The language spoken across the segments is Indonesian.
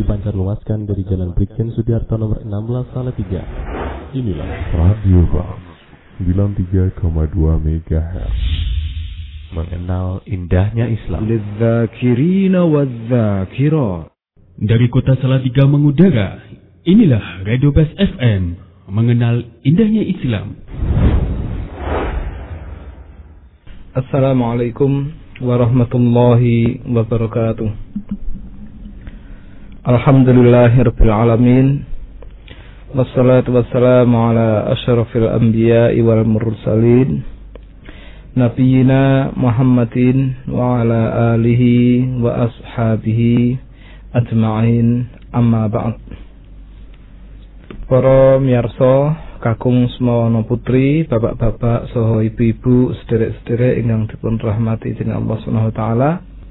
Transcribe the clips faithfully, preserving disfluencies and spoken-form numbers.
dipancarluaskan dari Jalan Brigjen Sudiarto nomor enam belas Salatiga. Inilah Radio Bang sembilan puluh tiga koma dua megahertz. Mengenal indahnya Islam. Lidzakirina wadzakirat. Dari kota Salatiga mengudara, inilah Radio Bas F M. Mengenal indahnya Islam. Assalamualaikum warahmatullahi wabarakatuh. Alhamdulillahirabbil alamin. Wassalatu wassalamu ala asyrafil anbiya'i wal mursalin. Nabiyina Muhammadin wa ala alihi wa ashabihi ajma'in, amma ba'd. Para miyarsa kakung semawana putri, bapak-bapak saha ibu-ibu, sederek-sederek ingkang dipun rahmati dening Allah Subhanahu wa taala.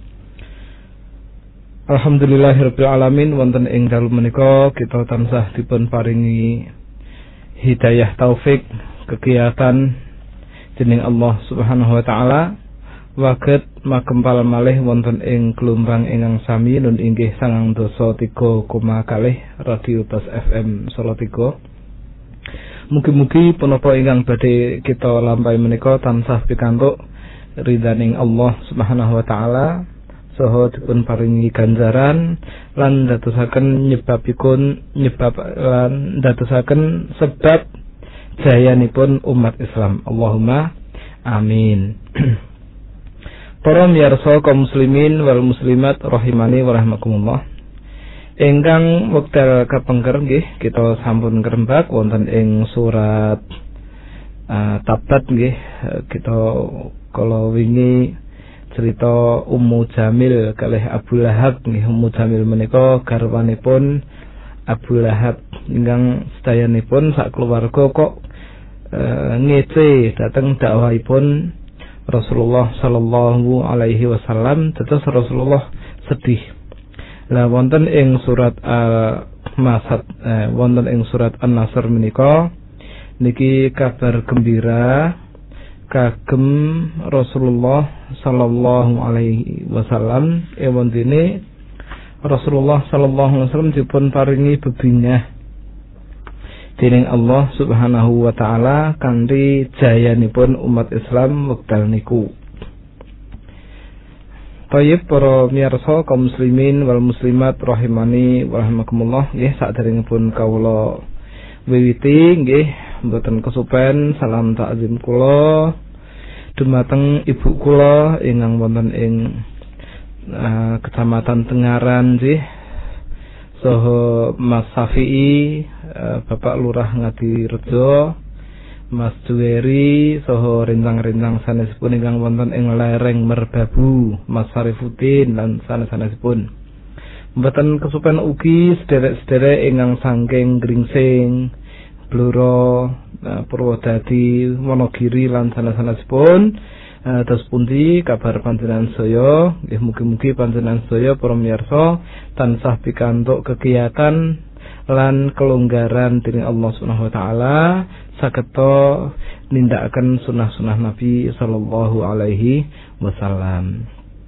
Alhamdulillahirabbil alamin, wonten ing dalu menika kita tansah dipun paringi hidayah taufik kegiatan dening Allah Subhanahu wa taala. Waget makempal malih wonten ing gelombang ingkang sami nun inggih sangang dasa tiga koma kalih Radio Bas F M Salatiga. Mugi-mugi punapa ingkang badhe kita lampahi menika tansah pikantuk ridhaning Allah Subhanahu wa taala saha dipun paringi ganjaran lan dadosaken nyebabipun nyebab lan dadosaken sebab jayanipun umat Islam. Allahumma amin. Para miyarsa kaum muslimin wal muslimat rahimani wa rahmakumullah. Ingkang wekdal kapengker nggih kita sampun ngrembak wonten ing surat uh, Tabat nggih. Kita kala wingi cerita Ummu Jamil kalih Abu Lahab nggih. Ummu Jamil menika garwanipun Abu Lahab ingkang sedayanipun sak keluarga kok uh, ngece dhateng dakwahipun Rasulullah sallallahu alaihi wasallam. Tetes Rasulullah sedih. Lah wonten ing surat Al-Masad eh, wonten ing surat An-Nasr menika niki kabar gembira kagem Rasulullah sallallahu alaihi wasallam. Ewon dene Rasulullah sallallahu alaihi wasallam dipun paringi bebingah dening Allah Subhanahu wa taala kanthi jayanipun umat Islam wekdal niku. Baik para miyarsa kaum muslimin wal muslimat rahimani wa rahimakumullah, nggih saderengipun kawula wiwiti nggih mboten kesupen salam takzim kula dumateng ibu kula ingkang wonten ing uh, Kecamatan Tengaran nggih, saha Mas Safi'i, uh, Bapak Lurah Ngadirejo, Mas Juweri, saha rencang-rencang sanesipun ingkang wonten ing lereng Merbabu, Mas Sarifuddin lan sanes-sanesipun. Mboten kesupen ugi sederek-sederek ingkang saking Gringsing, Blora, Purwodadi, Wonogiri lan sanes-sanesipun. Terus pundi kabar panjenengan sedaya? Nggih mugi-mugi panjenengan sedaya para miyarsa tansah pikantuk kegiatan lan kelonggaran dening Allah Subhanahu wa taala sageta nindakaken sunah-sunah Nabi sallallahu alaihi wasallam.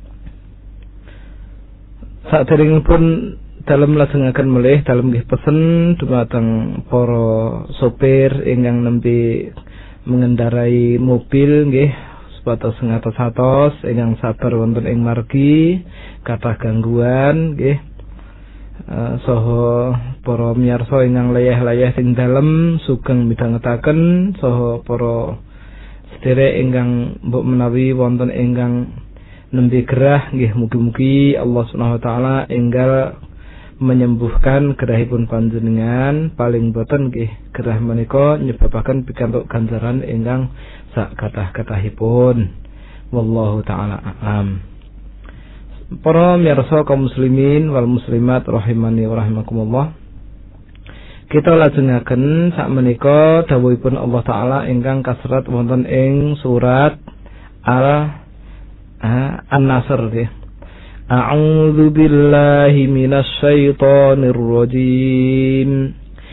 Saderengipun dalem lajengaken melih dalem nggih pesen dumateng para sopir ingkang nembe mengendarai mobil nggih supados ngatos-atos ingkang sabar wonten ing margi kathah gangguan nggih. Uh, saha para miyarsa ingkang layah-layah ing dalem sugeng midhangetaken saha para sederek ingkang mbok menawi wonten ingkang nembe gerah nggih mugi-mugi Allah Subhanahu wa taala enggal menyembuhkan gerahipun panjenengan. Paling boten nggih gerah menika nyebabaken pikantuk ganjaran ingkang sak kathah-kathahipun. Wallahu taala a'lam. Para miyarsa kaum muslimin wal muslimat rahimani wa rahimakumullah. Kita lajengaken sakmenika dawuhipun Allah taala ingkang kasrat wonten ing surat Al An-Nasr nggih. A'udzu billahi minasy syaithanir rajim.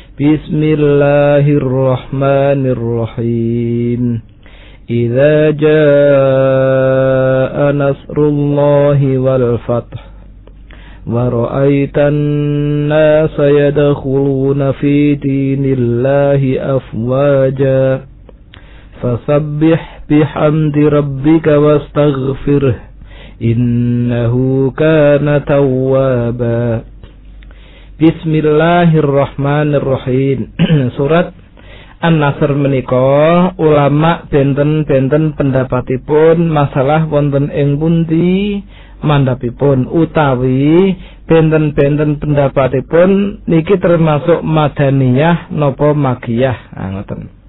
Bismillahirrahmanirrahim. Idza jaa nasrullahi wal fath wa ra'aitan nasa yadkhuluna fi dinillahi afwaja fasabbih bihamdi rabbika wastaghfirhu innahu kana tawwaba. Bismillahirrahmanirrahim. Surat An-Nasr menika ulama benten-benten pendapatipun masalah wonten ing pundi mandhapipun utawi benten-benten pendapatipun niki termasuk madaniyah napa makiyah. Ah ngoten.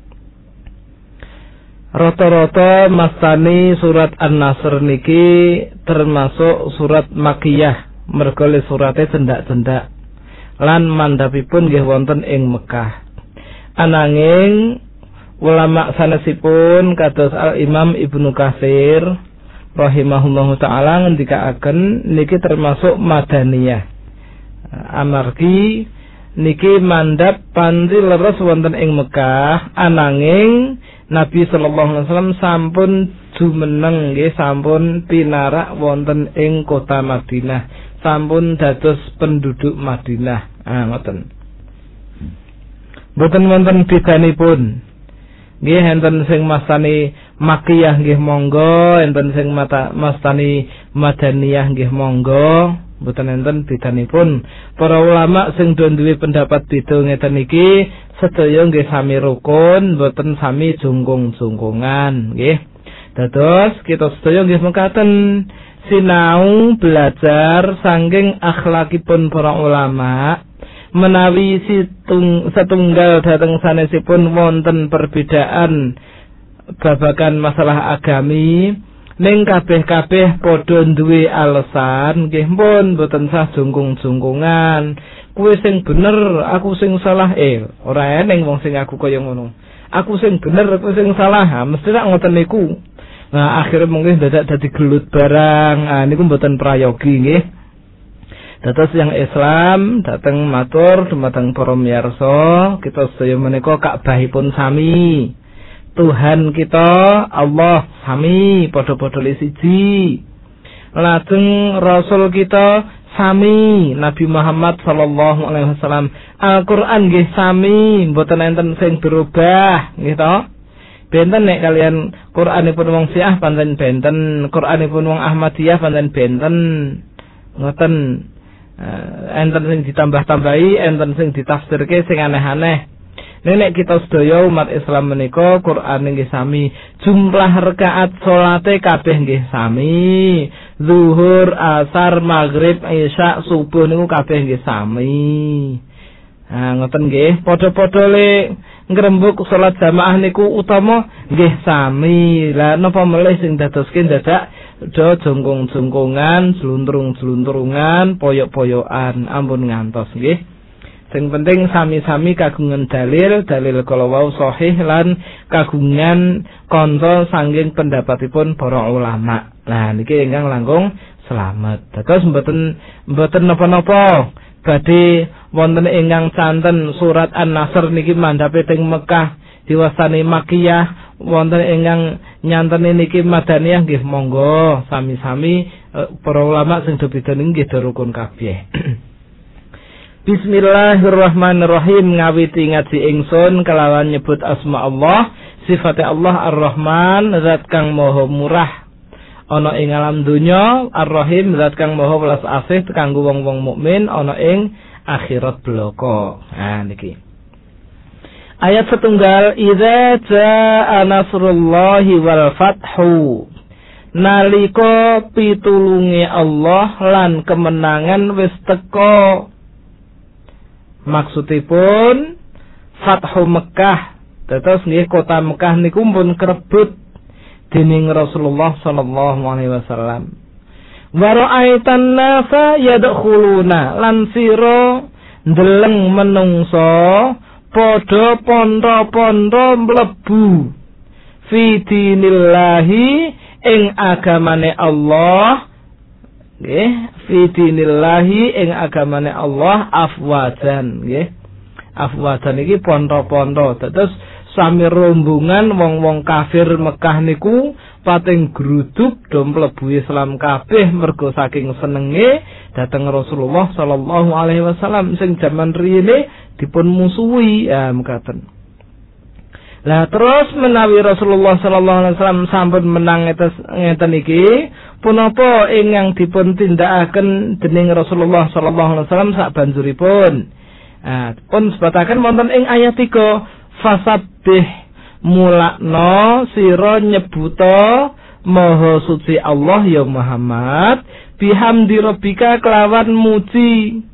Rata-rata mastani surat An-Nasr niki termasuk surat makiyah merga le surate cendak-cendak lan mandhapipun nggih wonten ing Mekah. Ananging ulama sanesipun kados Al Imam Ibnu Katsir rahimahullahu taala ngendikaaken niki termasuk madaniyah. Amargi niki mandhap panti leres wonten ing Mekah, ananging Nabi sallallahu alaihi wasallam sampun jumeneng nggih, sampun pinarak wonten ing kota Madinah, sampun dados penduduk Madinah. Ah ngoten. Mboten wonten bedanipun. Nggih enten sing mastani makiyah nggih monggo, enten sing mata mastani madaniyah nggih monggo. Mboten enten bedanipun. Para ulama sing duwe pendapat beda ngeten iki sedaya nggih sami rukun, mboten sami jungkung-jungkungan nggih. Dados kita sedaya nggih mekaten sinau belajar saking akhlakipun para ulama menawi situng setunggal dhateng sanesipun wonten perbedaan babagan masalah agami ning kabeh-kabeh padha duwe alasan nggih pun mboten sah jungkung-jungkungan. Kuwi sing bener, aku sing salah. Eh, ora eneng wong sing aku kaya ngono. Aku sing bener, aku sing salah. Ha, mesti rak ngoten niku. Nah, akhire mungkin dadak dadi gelut barang. Ah niku mboten prayogi nggih. Dados yang Islam dateng matur dumateng para miyarsa, kita sedaya menika Ka'bahipun sami. Tuhan kita Allah sami, padha-padha le siji. Lajeng Rasul kita sami, Nabi Muhammad sallallahu alaihi wasallam. Al-Qur'an nggih sami, mboten enten sing berubah, nggih to? Benten nek kalian Qur'anipun wong Syiah pancen benten, Qur'anipun wong Ahmadiyah pancen benten. Ngoten. Uh, enten sing ditambah-tambahi, enten sing ditafsirke sing aneh-aneh. Nek kita sedaya umat Islam menika Qur'an nggih sami, jumlah rakaat salate kabeh nggih sami. Zuhur, asar, maghrib, isya, subuh niku kabeh nggih sami. Nah, ngoten nggih, padha-padha le ngrembug salat jamaah niku utama nggih sami. Lah napa melih sing dadoske dadak do jongkong-jongkongan, sluntrung-sluntrungan, poyok-poyokan, ampun ngantos nggih. Sing penting sami-sami kagungan dalil, dalil kala wau sahih lan kagungan kanca saking pendapatipun para ulama. Nah niki ingkang langkung selamat. Dados mboten mboten napa-napa badhe wonten ingkang canten surat An-Nasr niki mandhape teng Mekah diwastani makiyah, wonten ingkang nyanteni niki madaniyah nggih monggo sami-sami para ulama sing do beda nggih rukun kabeh. Bismillahirrahmanirrahim. Ngawiti ngaji ingsun kelawan nyebut asma Allah, sifate Allah Ar-Rahman, zat kang maha murah ana ing alam donya, Ar-Rahim, zat kang maha welas asih kanggo wong-wong mukmin ana ing akhirat bloko. Nah niki ayat setunggal, idza jaa nasrullahi wal fathu, nalika pitulunge Allah lan kemenangan wis teka. Maksudipun Fathu Mekah, terus nggih kota Mekah niku pun kerebut dening Rasulullah sallallahu alaihi wasallam. Wa ra'aitan nasa yadkhuluna, lan sira ndeleng menungso padha pontho-pontho mlebu fi dinillahi ing agamane Allah. Nggih, fi dinillahi ing agamane Allah afwajan nggih. Afwajan iki pontho-pontho. Terus sami rombongan wong-wong kafir Mekah niku pating gruduk do mlebu Islam kabeh mergo saking senenge dhateng Rasulullah sallallahu alaihi wasallam sing jaman riyene dipun musuhi ya mekaten. Lah terus menawi Rasulullah sallallahu alaihi wasallam sampun menang ngeten iki punapa ingkang dipun tindakaken dening Rasulullah sallallahu alaihi wasallam sak banjuripun. Ah pun sebataken wonten ing ayat tiga fasabbih mulakno sira nyebuta maha suci Allah ya Muhammad bihamdi rabbika kelawan muji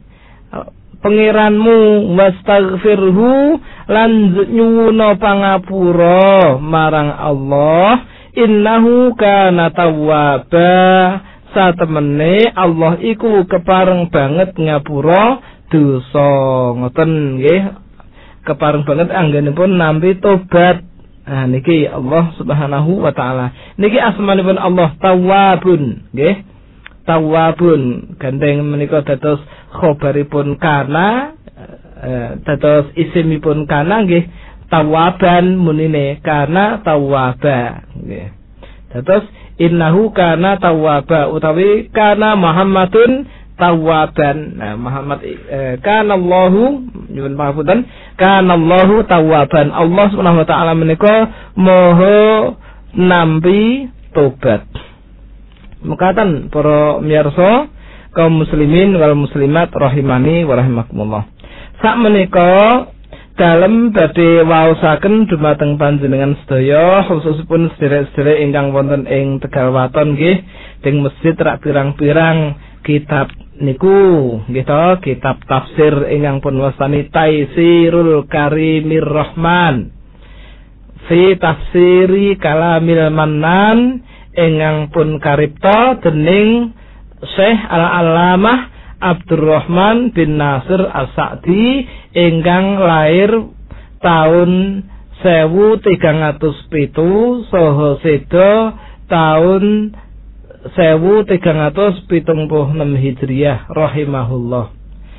pangeranmu wastaghfirhu lan nyuwuna pangapura marang Allah innahu kana tawwaba satemene Allah iku kepareng banget ngapura dosa ngoten nggih kepareng banget anggenipun nampi tobat. Nah niki Allah Subhanahu wa taala. Niki asmanipun Allah Tawwabun, nggih. Tawwabun gandeng menika dados khobaripun kana eh, dados isimipun kana nggih Tawwaban munine kana tawwaba nggih. Dados innahu kana tawwaba utawi kana Muhammadun tawwaban. Nah Muhammad eh, kana Allahu nyuwun pangapunten kana Allahu tawwaban. Allah Subhanahu wa taala menika maha nampi tobat. Mekaten para miyarsa kaum muslimin wal muslimat rahimani wa rahimakumullah. Sak menika dalem badhe waosaken dumateng panjenengan sedaya khususipun sedherek-sedherek ingkang wonten ing Tegal Waton nggih teng masjid rak pirang-pirang kitab niku nggih to kitab tafsir ingkang pun wastani Taisirul Karimir Rahman fi tafsiri kalamil Mannan ingkang pun karipta dening Syekh Al-Allamah Abdurrahman bin Nasir As-Sa'di ingkang lair tahun sewu tigang atus pitu saha seda tahun sewu tigang atus pitung puluh enam Hijriah rahimahullah.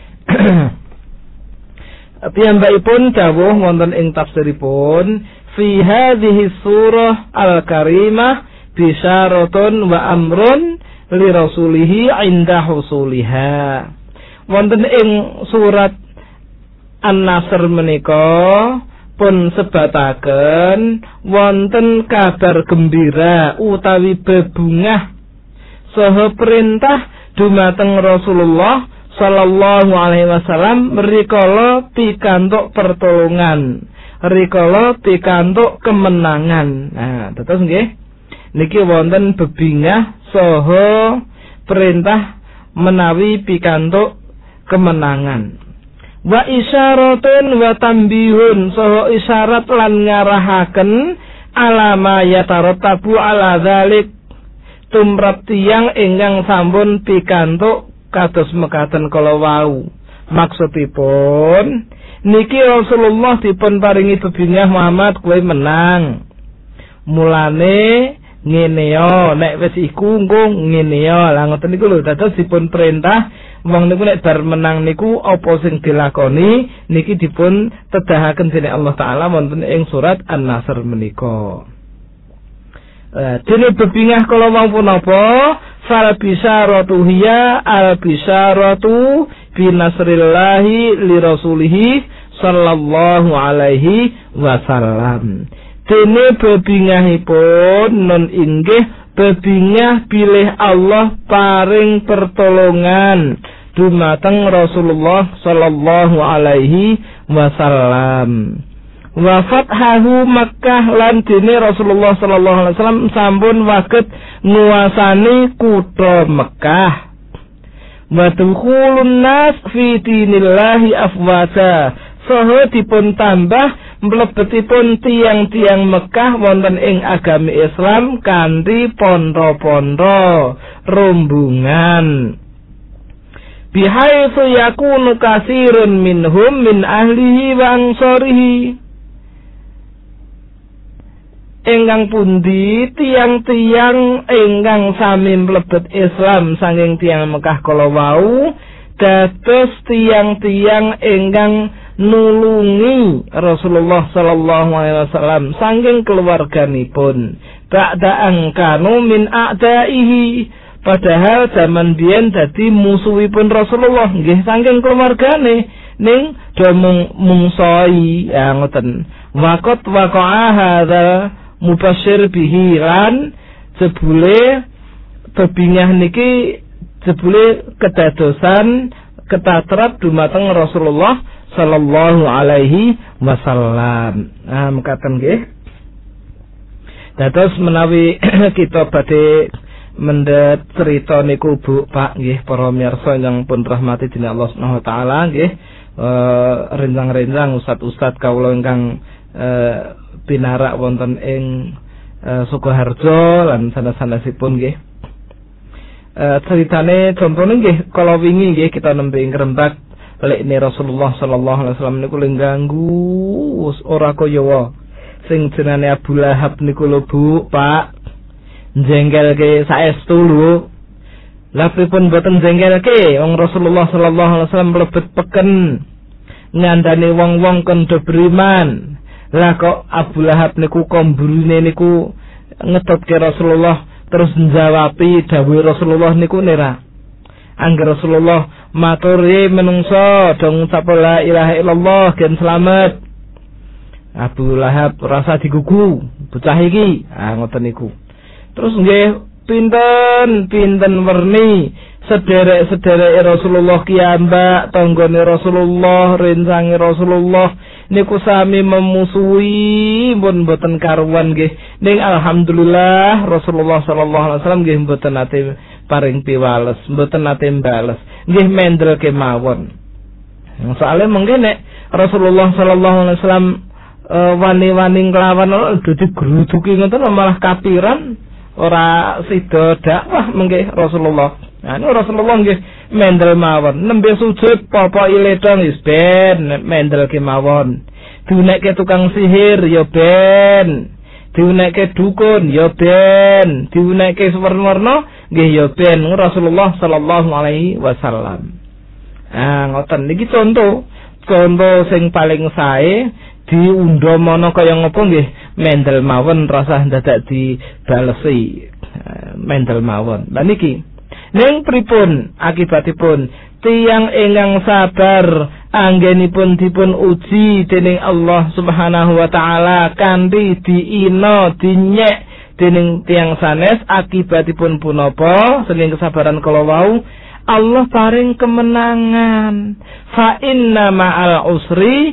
Piyambakipun dawuh wonten ing tafsiripun fi hadhihi surah al-karimah bisyaratun wa amrun li rasulihi inda husuliha. Wonten ing surat An-Nasr menika pun sebataken wonten kabar gembira utawi bebungah saha perintah dumateng Rasulullah sallallahu alaihi wasallam rikala pikantuk pertolongan, rikala pikantuk kemenangan. Nah, terus nggih niki wonten bebingah saha perintah menawi pikantuk kemenangan. Wa isyaratun wa tambihun saha isyarat lan ngarahaken alama yatarattabu ala dzalik tumrap tiyang ingkang sampun pikantuk kados mekaten kala wau. Maksudipun niki Rasulullah dipun paringi bebingah Muhammad kowe menang. Mulane ngene yo nek wis iku engko ngene yo. Lah ngoten niku lho dados dipun perintah wong niku nek bar menang niku apa sing dilakoni niki dipun tedahaken dening Allah taala wonten ing surat An-Nasr menika. Eh dene bebingah kala wau punapa fal bisyaratu hiya al bisyaratu bi nasrillahi li rasulih sallallahu alaihi wasallam. Dene bebingahipun non inggih bebingah bilih Allah paring pertolongan dumateng Rasulullah sallallahu alaihi wasallam. Wa fathahu Makkah lan dene Rasulullah sallallahu alaihi wasallam sampun waget nguasani kutha Mekah. Wa dukhulun nas fi dinillahi afwaja. Saha dipun tambah mlebetipun tiang-tiang Mekah wonten ing agami Islam kanthi pondo-pondo rombongan. Bihaitsu yakunu katsirun minhum min ahlihi wa ansarihi. Ingkang pundi tiang-tiang ingkang sami mlebet Islam saking tiang Mekah kala wau dados tiang-tiang ingkang nulungi Rasulullah sallallahu alaihi wasallam saking keluarganipun ba'da angkanu min a'daihi, padahal zaman biyen dadi musuhipun Rasulullah nggih saking keluargane ning do mungsoi ya ngoten. Waqat waqa'a hadza mubasyir bihi lan jebule bebingah niki jebule kedadosan ketatrap dumateng Rasulullah sallallahu alaihi wasallam. Ah mekaten nggih. Dados menawi kita badhe mendhet cerita niku Bu Pak nggih para miyarsa ingkang pun rahmati dening Allah Subhanahu wa taala nggih, eh rencang-rencang ustad-ustad kawula ingkang eh pinarak wonten ing eh, Sukoharjo lan sanes-sanesipun nggih. Eh ceritane contone nggih kala wingi nggih kita nembe ing Rembag lekne Rasulullah sallallahu alaihi wasallam niku lengganggu ora kaya sing jenenge Abu Lahab niku lho Bu Pak, jengkelke saestu lho. Lah pripun boten jengkelke wong Rasulullah sallallahu alaihi wasallam mlebet peken ngandani wong-wong kon do beriman. Lah kok Abu Lahab niku komburine niku ngetutke Rasulullah terus njawabi dawuh Rasulullah niku nera. Angger Rasulullah matur menungso dong ngucap la ilaha illallah gen selamat. Abu Lahab rasa digugu bocah iki, ah ngoten niku. Terus nggih pinten pinten werni sederek-sederek Rasulullah kiambak tanggane Rasulullah rencange Rasulullah niku sami memusuhi pun mboten karuan nggih. Ning alhamdulillah Rasulullah sallallahu alaihi wasallam nggih mboten nate paring piwales, mboten nate mbales. Nggih mendel kemawon. Soale mungkin nek Rasulullah sallallahu alaihi wasallam uh, wani-wani nglawan dadi gruduki ngoten malah kapiran ora sida dakwah mengke Rasulullah. Nah, ini Rasulullah nggih mendel mawon, nembe sujud papa iledong wis ben mendel kemawon. Diunekke tukang sihir ya ben, diunekke dukun ya ben, diunekke warna-warna nggih ya ben Rasulullah sallallahu alaihi wasallam. Ah ngoten niki contoh, contoh sing paling sae diundha mono kaya ngopo nggih mendel mawon rasa dadak dibalesi mendel mawon. Lah niki ning pripun akibatipun tiyang ingkang sabar anggenipun dipun uji dening Allah Subhanahu wa taala kanthi diina dinyek dening tiyang sanes, akibatipun punapa saking kesabaran kala wau Allah paring kemenangan. Fa inna ma'al usri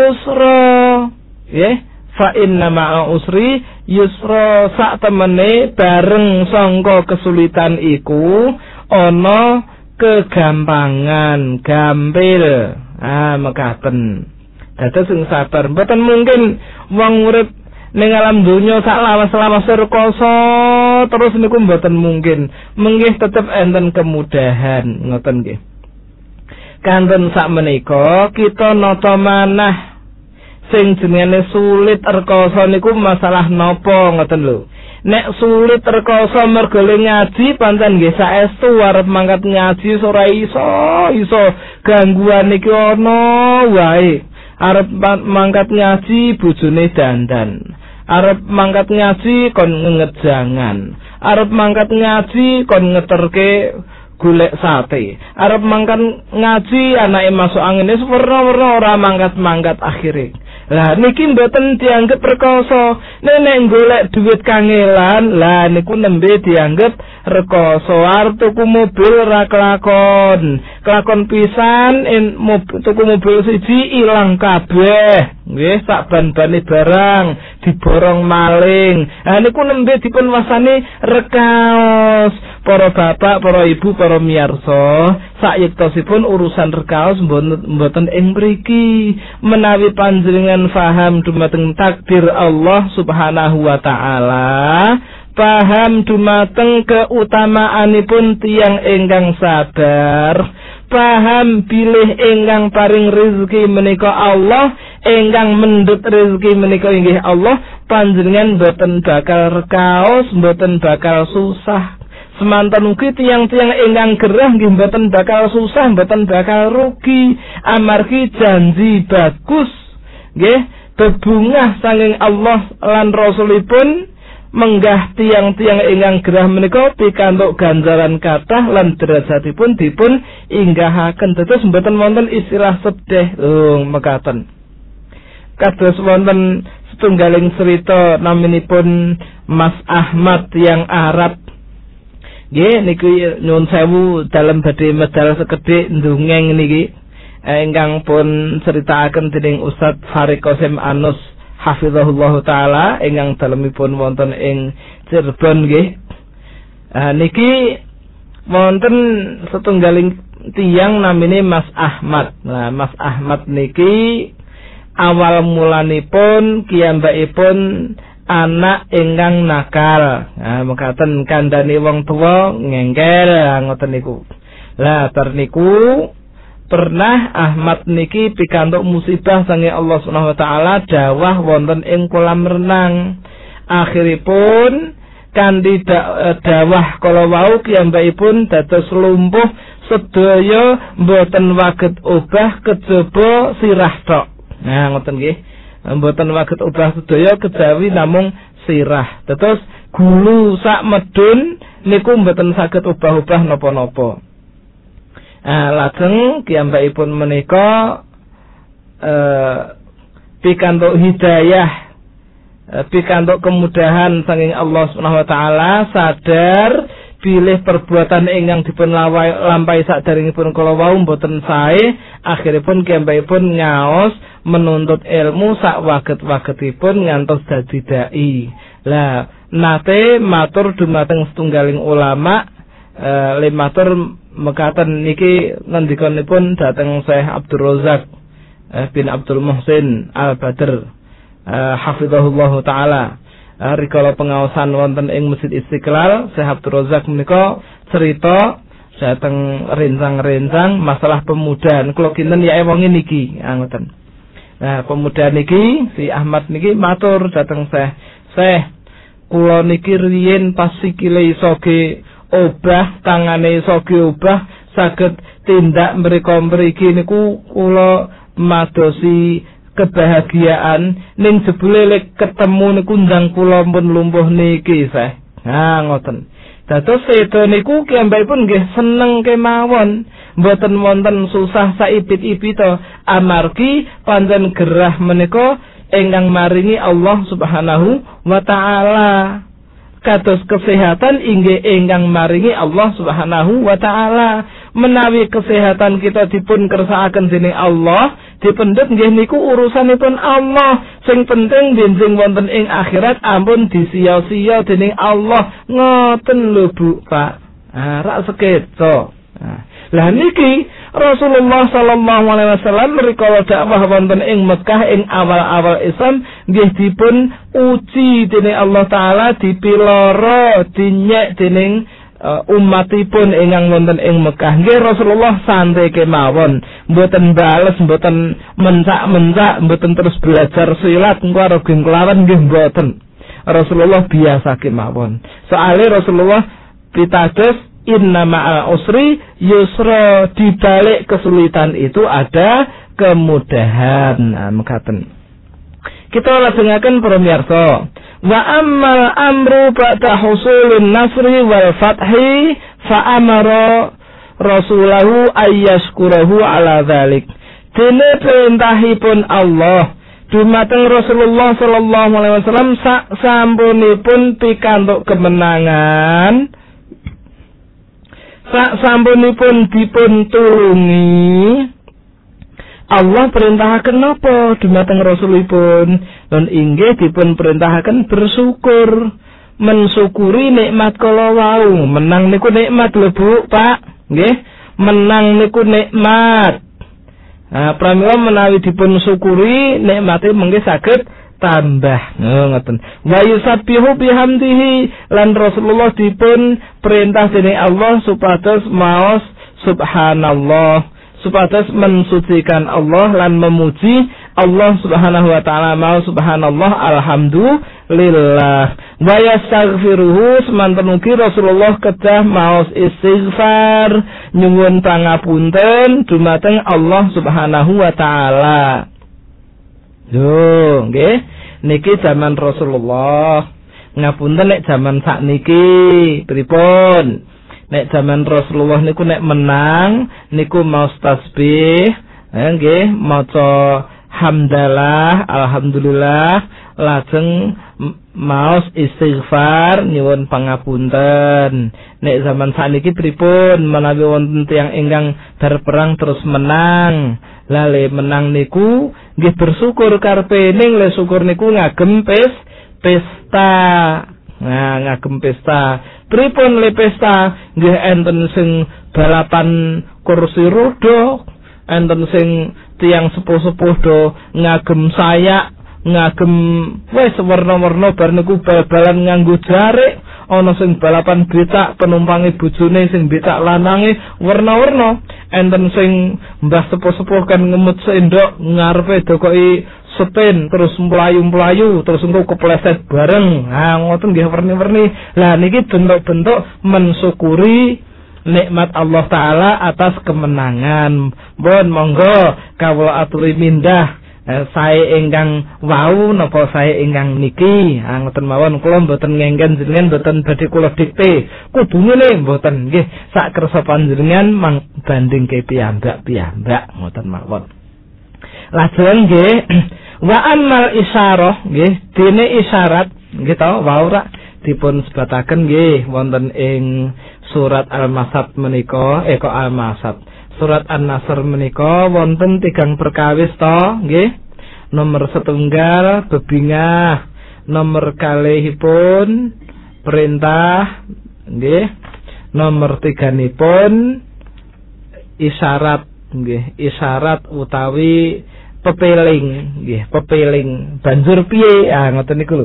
yusra, nggih. Fa inna ma'al usri yusra, sak temene bareng sangka kesulitan iku ana kegampangan, gampil. Ah mekaten. Dados sing sabar mboten mungkin wong urip ning alam donya sak lawas-lawas rekoso terus niku mboten mungkin. Menggih tetep enten kemudahan ngoten nggih. Kanten sak menika kita nata manah sing jenenge sulit rekoso niku masalah napa ngoten lho. Nek sulit rekoso mergo ngaji pancen nggih saestu arep mangkat ngaji ora iso, iso gangguan iki ana wae. Arep mangkat ngaji bojone dandan, arep mangkat ngaji kon ngejangan, arep mangkat ngaji kon ngeterke golek sate, arep mangkat ngaji anake masuk angin wis werna-werna ora mangkat-mangkat akhire. Lah niki mboten dianggep rekoso. Nek golek duit kangelan, lah niku nembe dianggep rekoso. Arep tuku mobil ora kelakon. Kelakon pisan en mobil, tuku mobil siji ilang kabeh. Nggih, sak ban-bane barang diborong maling. Lah niku nembe dipun wasani rekaos. Para bapak, para ibu, para miyarsa, sayektosipun urusan rekaos mboten ing mriki. Menawi panjenengan faham dumateng takdir Allah Subhanahu wa taala, paham dumateng keutamaanipun tiyang ingkang sabar, paham bilih ingkang paring rezeki menika Allah, ingkang mendhet rezeki menika inggih Allah, panjenengan mboten bakal rekaos, mboten bakal susah. Semanten ugi tiyang-tiyang ingkang gerah nggih mboten bakal susah, mboten bakal rugi amargi janji bagus nggih bebungah saking Allah lan Rasulipun menggah tiang-tiang ingkang gerah menika pikantuk ganjaran kathah lan derajatipun dipun inggahaken. Dados mboten wonten istilah sedih lho mekaten. Kados wonten setunggaling cerita naminipun Mas Ahmad yang Arab. Nggih niku nyuwun sewu dalem badhe medal sekedhik ndongeng niki ingkang pun critakaken dening Ustaz Farid Qasim Anus hafizahullah taala ingkang dalemipun wonten ing Cirebon nggih. Ah niki wonten setunggaling tiyang namine Mas Ahmad. Nah, Mas Ahmad niki awal mulanipun kiyambakipun anak ingkang nakal. Nah, mekaten kandhane wong tuwa ngengkel ngoten niku. Lah bar niku pernah Ahmad niki pikantuk musibah saking Allah Subhanahu wa taala dawah wonten ing kolam renang. Akhiripun kanthi dawah kala wau kiyambakipun dados lumpuh sedaya mboten waget obah kejaba sirah tok. Nah ngoten nggih. Mboten waget obah sedaya kejawi namung sirah. Dados gulu sak medun niku mboten saged obah-obah napa-napa. Ah lajeng kiyambakipun menika eh pikantuk hidayah, eh, pikantuk kemudahan saking Allah Subhanahu wa taala, sadar bilih perbuatan ingkang dipun lampahi sakderengipun kala wau mboten sae, akhiripun kiyambakipun ngaos menuntut ilmu sak waget-wagetipun ngantos dadi dai. Lah nate matur dumateng setunggaling ulama eh le matur mekaten niki ngendikanipun dhateng Syekh Abdul Razak eh, bin Abdul Muhsin Al-Badr eh, hafizahullah taala. Eh, rikala pengaosan wonten ing Masjid Istiqlal, Syekh Abdul Razak menika cerita dhateng rencang-rencang masalah pemuda. Kula kinten ya wong niki ngoten. Nah, pemuda niki si Ahmad niki matur dhateng Syekh, "Syekh, kula niki riyin pas sikile iso ge obah, tangane iso ge obah, saged tindak mriko mriki niku kula madosi kebahagiaan ning jebule lek ketemu niku ndang kula pun lumpuh niki, Syekh." Nah, ngoten. Dados sedo niku kiyambakipun nggih seneng kemawon, mboten wonten susah saibit-ibito amargi pancen gerah menika ingkang maringi Allah Subhanahu wa taala. Kados kesehatan inggih ingkang maringi Allah Subhanahu wa taala. Menawi kesehatan kita dipun kersakaken dening Allah, dipendhet nggih niku urusanipun Allah. Sing penting benjing wonten ing akhirat ampun disia-sia dening Allah. Ngoten lho Bu, Pak. Ah, rak seketo. Nah, lah niki Rasulullah sallallahu alaihi wasallam rikala dakwah wonten ing Mekah ing awal-awal Islam nggih dipun uji dening Allah taala, dipiloro dinyek dening uh, umatipun ingkang wonten ing Mekah. Nggih Rasulullah santai kemawon, mboten bales, mboten mencak-mencak, mboten terus belajar silat engko arep kelawan nggih mboten. Rasulullah biasa kemawon. Soale Rasulullah pitados inna ma'al usri yusra, di balik kesulitan itu ada kemudahan. Nah, mekaten. Kita lajengaken para miyarsa. Wa ammal amru ba'da husulin nasri wal fathi fa amara rasulahu ayyashkurahu ala dzalik. Dene perintahipun Allah dumateng Rasulullah sallallahu alaihi wasallam sak sampunipun pikantuk kemenangan, sak sampunipun dipun tulungi, Allah perintahaken napa dumateng Rasulipun? Lan inggih dipun perintahaken bersyukur, mensyukuri nikmat kala wau. Menang niku nikmat lho Bu, Pak. Nggih, menang niku nikmat. Nah, pramila menawi dipun syukuri nikmate mengke saged tambah. Oh, ngoten. Wa yusabbihu bihamdihi, lan Rasulullah dipun perintah dening Allah supados maos subhanallah, supados mensucikan Allah lan memuji Allah Subhanahu wa taala, maos subhanallah alhamdulillah lillah wa yastaghfiruhu semanten ugi Rasulullah kedah maos istighfar nyuwun pangapunten dumateng Allah Subhanahu wa taala. Yo nggih niki zaman Rasulullah. Ngapunten nek zaman sakniki pripun? Nek zaman Rasulullah niku nek menang niku maos tasbih, eh, nggih maca hamdalah, alhamdulillah, lajeng maos istighfar nyuwun pangapunten. Nek zaman sakniki pripun menawi wonten tiyang ingkang berperang terus menang. Lale menang niku nggih bersyukur karepe ning le syukur niku ngagem pes pesta. Nah, ngagem pesta. Pripun le pesta? Nggih enten sing balapan kursi roda, enten sing tiyang sepuh-sepuh do ngagem sayak, ngagem wis warna-warna bar niku bal-balan nganggo jarik, ana sing balapan becak penumpange bojone sing becak lanange warna-warna, enten sing mbah sepuh-sepuh kan ngemut sendok ngarepe dokoki sepen terus mlayu-mlayu terus engko kepleset bareng. Ha ngoten nggih werni-werni. Lah niki bentuk-bentuk mensyukuri nikmat Allah taala atas kemenangan. Mohon monggo kawula aturi mindah eh, sae ingkang wau napa sae ingkang niki. Ha ngoten mawon kula mboten ngengken jenengan mboten badhe kula dikte. Kudune mboten nggih sak kersa panjenengan mang bandingke piyambak-piyambak ngoten mawon. Lajeng nggih wa amal isyarah nggih dene isyarat nggih ta wau ra dipun sebataken nggih wonten ing surat Al-Masad menika eh kok Al-Masad surat An-Nasr menika wonten tigang perkawis to nggih nomor setunggal bebingah nomor kalihipun perintah nggih nomor tiganipun isyarat nggih isyarat utawi pepeling nggih pepeling banjur piye ah ngoten niku lho.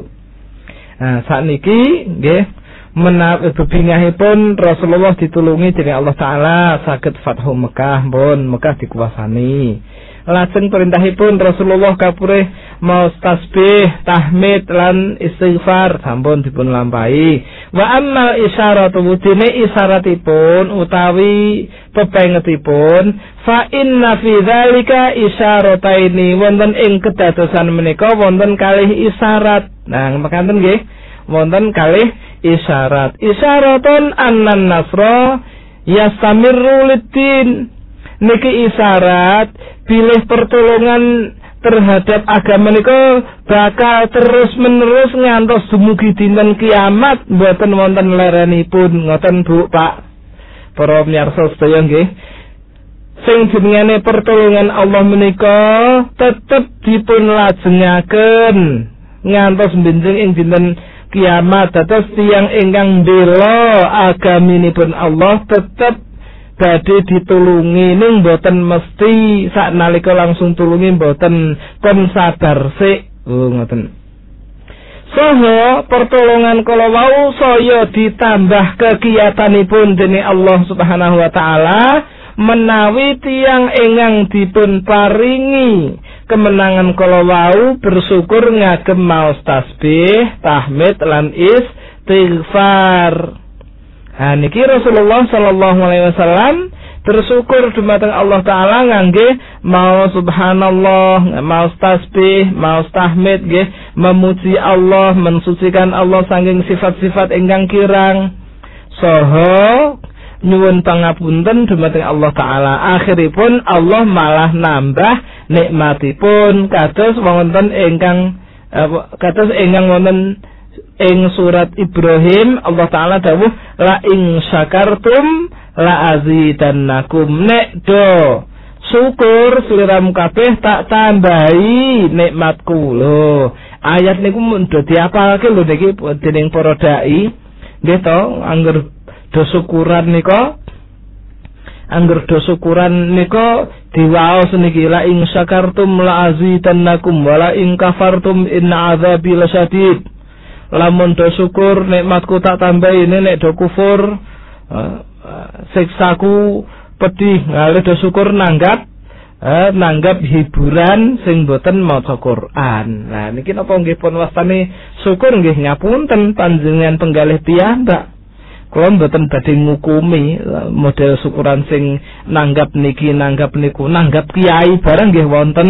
Nah sakniki nggih menawi bebingahipun Rasulullah ditulungi dening Allah taala saged Fathu Mekah pun Mekah dikuasani. Lajeng perintahipun Rasulullah kapure maos tasbih, tahmid lan istighfar sampun dipun lampahi. Wa ammal isyaratu dene isyaratipun utawi pepengetipun fa inna fi dzalika isyarataini wonten ing kedadosan menika wonten kalih isyarat. Nah mekaten nggih wonten kalih isyarat. Isyaratun annan nasra yastamirru lid-din. Niki isyarat pilih pertolongan terhadap agama menika bakal terus menerus ngantos dumugi dinten kiamat mboten wonten lerenipun ngoten Bu Pak. Para miyarsa sedaya nggih. Sing jenengane pertolongan Allah menika tetep dipun lajengaken ngantos benjing ing dinten kiamat. Dados tiyang ingkang mbela agaminipun Allah tetep badhe ditulungi ning mboten mesti saknalika langsung tulungi mboten kon sabar sik. Oh ngoten. Saha pertolongan kala wau saya ditambah kegiatanipun dening Allah Subhanahu wa taala menawi tiyang ingkang dipun paringi kemenangan kala wau bersyukur ngagem maos tasbih, tahmid lan istighfar. Nah niki Rasulullah sallallahu alaihi wasallam bersyukur dumateng Allah taala ngangge mau subhanallah, mau tasbih, mau tahmid nggih, memuji Allah, mensucikan Allah saking sifat-sifat ingkang kirang. Saha nyuwun pangapunten dumateng Allah taala. Akhiripun Allah malah nambah nikmatipun kados wonten ingkang eh, kados ingkang wonten ing surat Ibrahim Allah taala dawuh la ing syakartum la azidannakum nek do syukur sliramu kabeh tak tambahi nikmatku lho. Ayat niku mun do diapalke lho niki dening para dai nggih to angger do syukuran nika angger do syukuran nika diwaos niki la ing syakartum la azidannakum wa la ing kafartum inna adzabi lasyadid. Lamun do syukur nikmatku tak tambahi, nek do kufur uh, uh, siksaku pedih. Ngalih do syukur nanggap eh, nanggap hiburan sing boten maca Quran. Nah niki napa nggih pun wastane syukur nggih ngapunten panjenengan penggalih piyambak. Kula mboten badhe ngukumi model syukuran sing nanggap niki nanggap niku, nanggap kiai barang nggih wonten.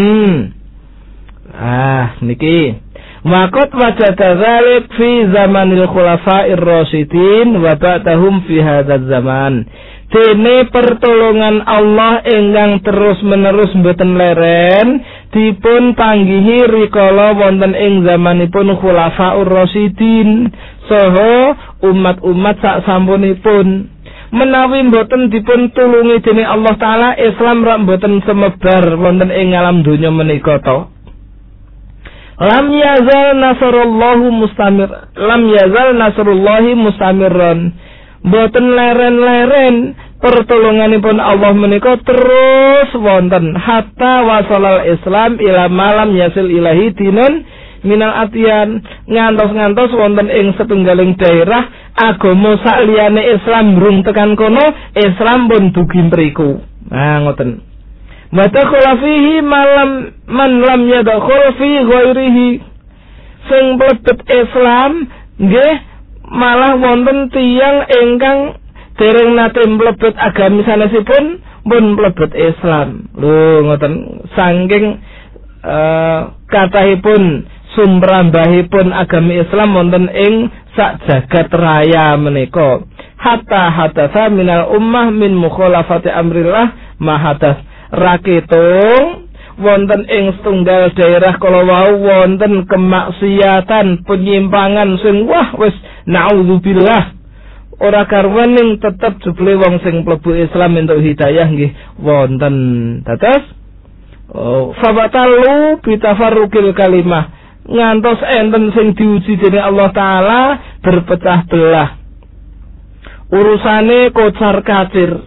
Ah niki Maqat wajada dzalik fi zamanil khulafa'ir rasyidin wa ba'dahum fi hadzal zaman. Dene pertolongan Allah ingkang terus-menerus mboten leren dipun panggihi rikala wonten ing zamanipun khulafa'ur rasyidin saha umat-umat sak sampunipun. Menawi mboten dipun tulungi dening Allah taala, Islam rak mboten semebar wonten ing alam donya menika to. Lam yazal nasrullahu mustamir lam yazal nasrullahi mustamirran. Mboten leren-leren pertolonganipun Allah menika terus wonten hatta wasalal Islam ila malam yasil ilahi dinun minal atiyan, ngantos-ngantos wonten ing setunggaling daerah agama sakliyane Islam rung tekan kono, Islam pun dugi mriku. Nah ngoten. Madakhala fihi malam man lam yadkhul fi ghairihi. Sing mlebet Islam nggih malah wonten tiyang ingkang dereng nate mlebet agami sanesipun pun mlebet Islam. Lho ngoten saking uh, kathahipun sumrambahipun agami Islam wonten ing sak jagat raya menika. Hatta hadatsa minal ummah min mukhalafati amrillah mahadas raketung wonten ing setunggal daerah kala wau wonten kemaksiatan penyimpangan sing wah wis naudzubillah ora karwening tetep jebule wong sing mlebu Islam entuk hidayah nggih wonten. Dados oh, fabatalu bitafarruqil kalimah ngantos enten sing diuji dening Allah taala berpecah belah. Urusane kocar kacir.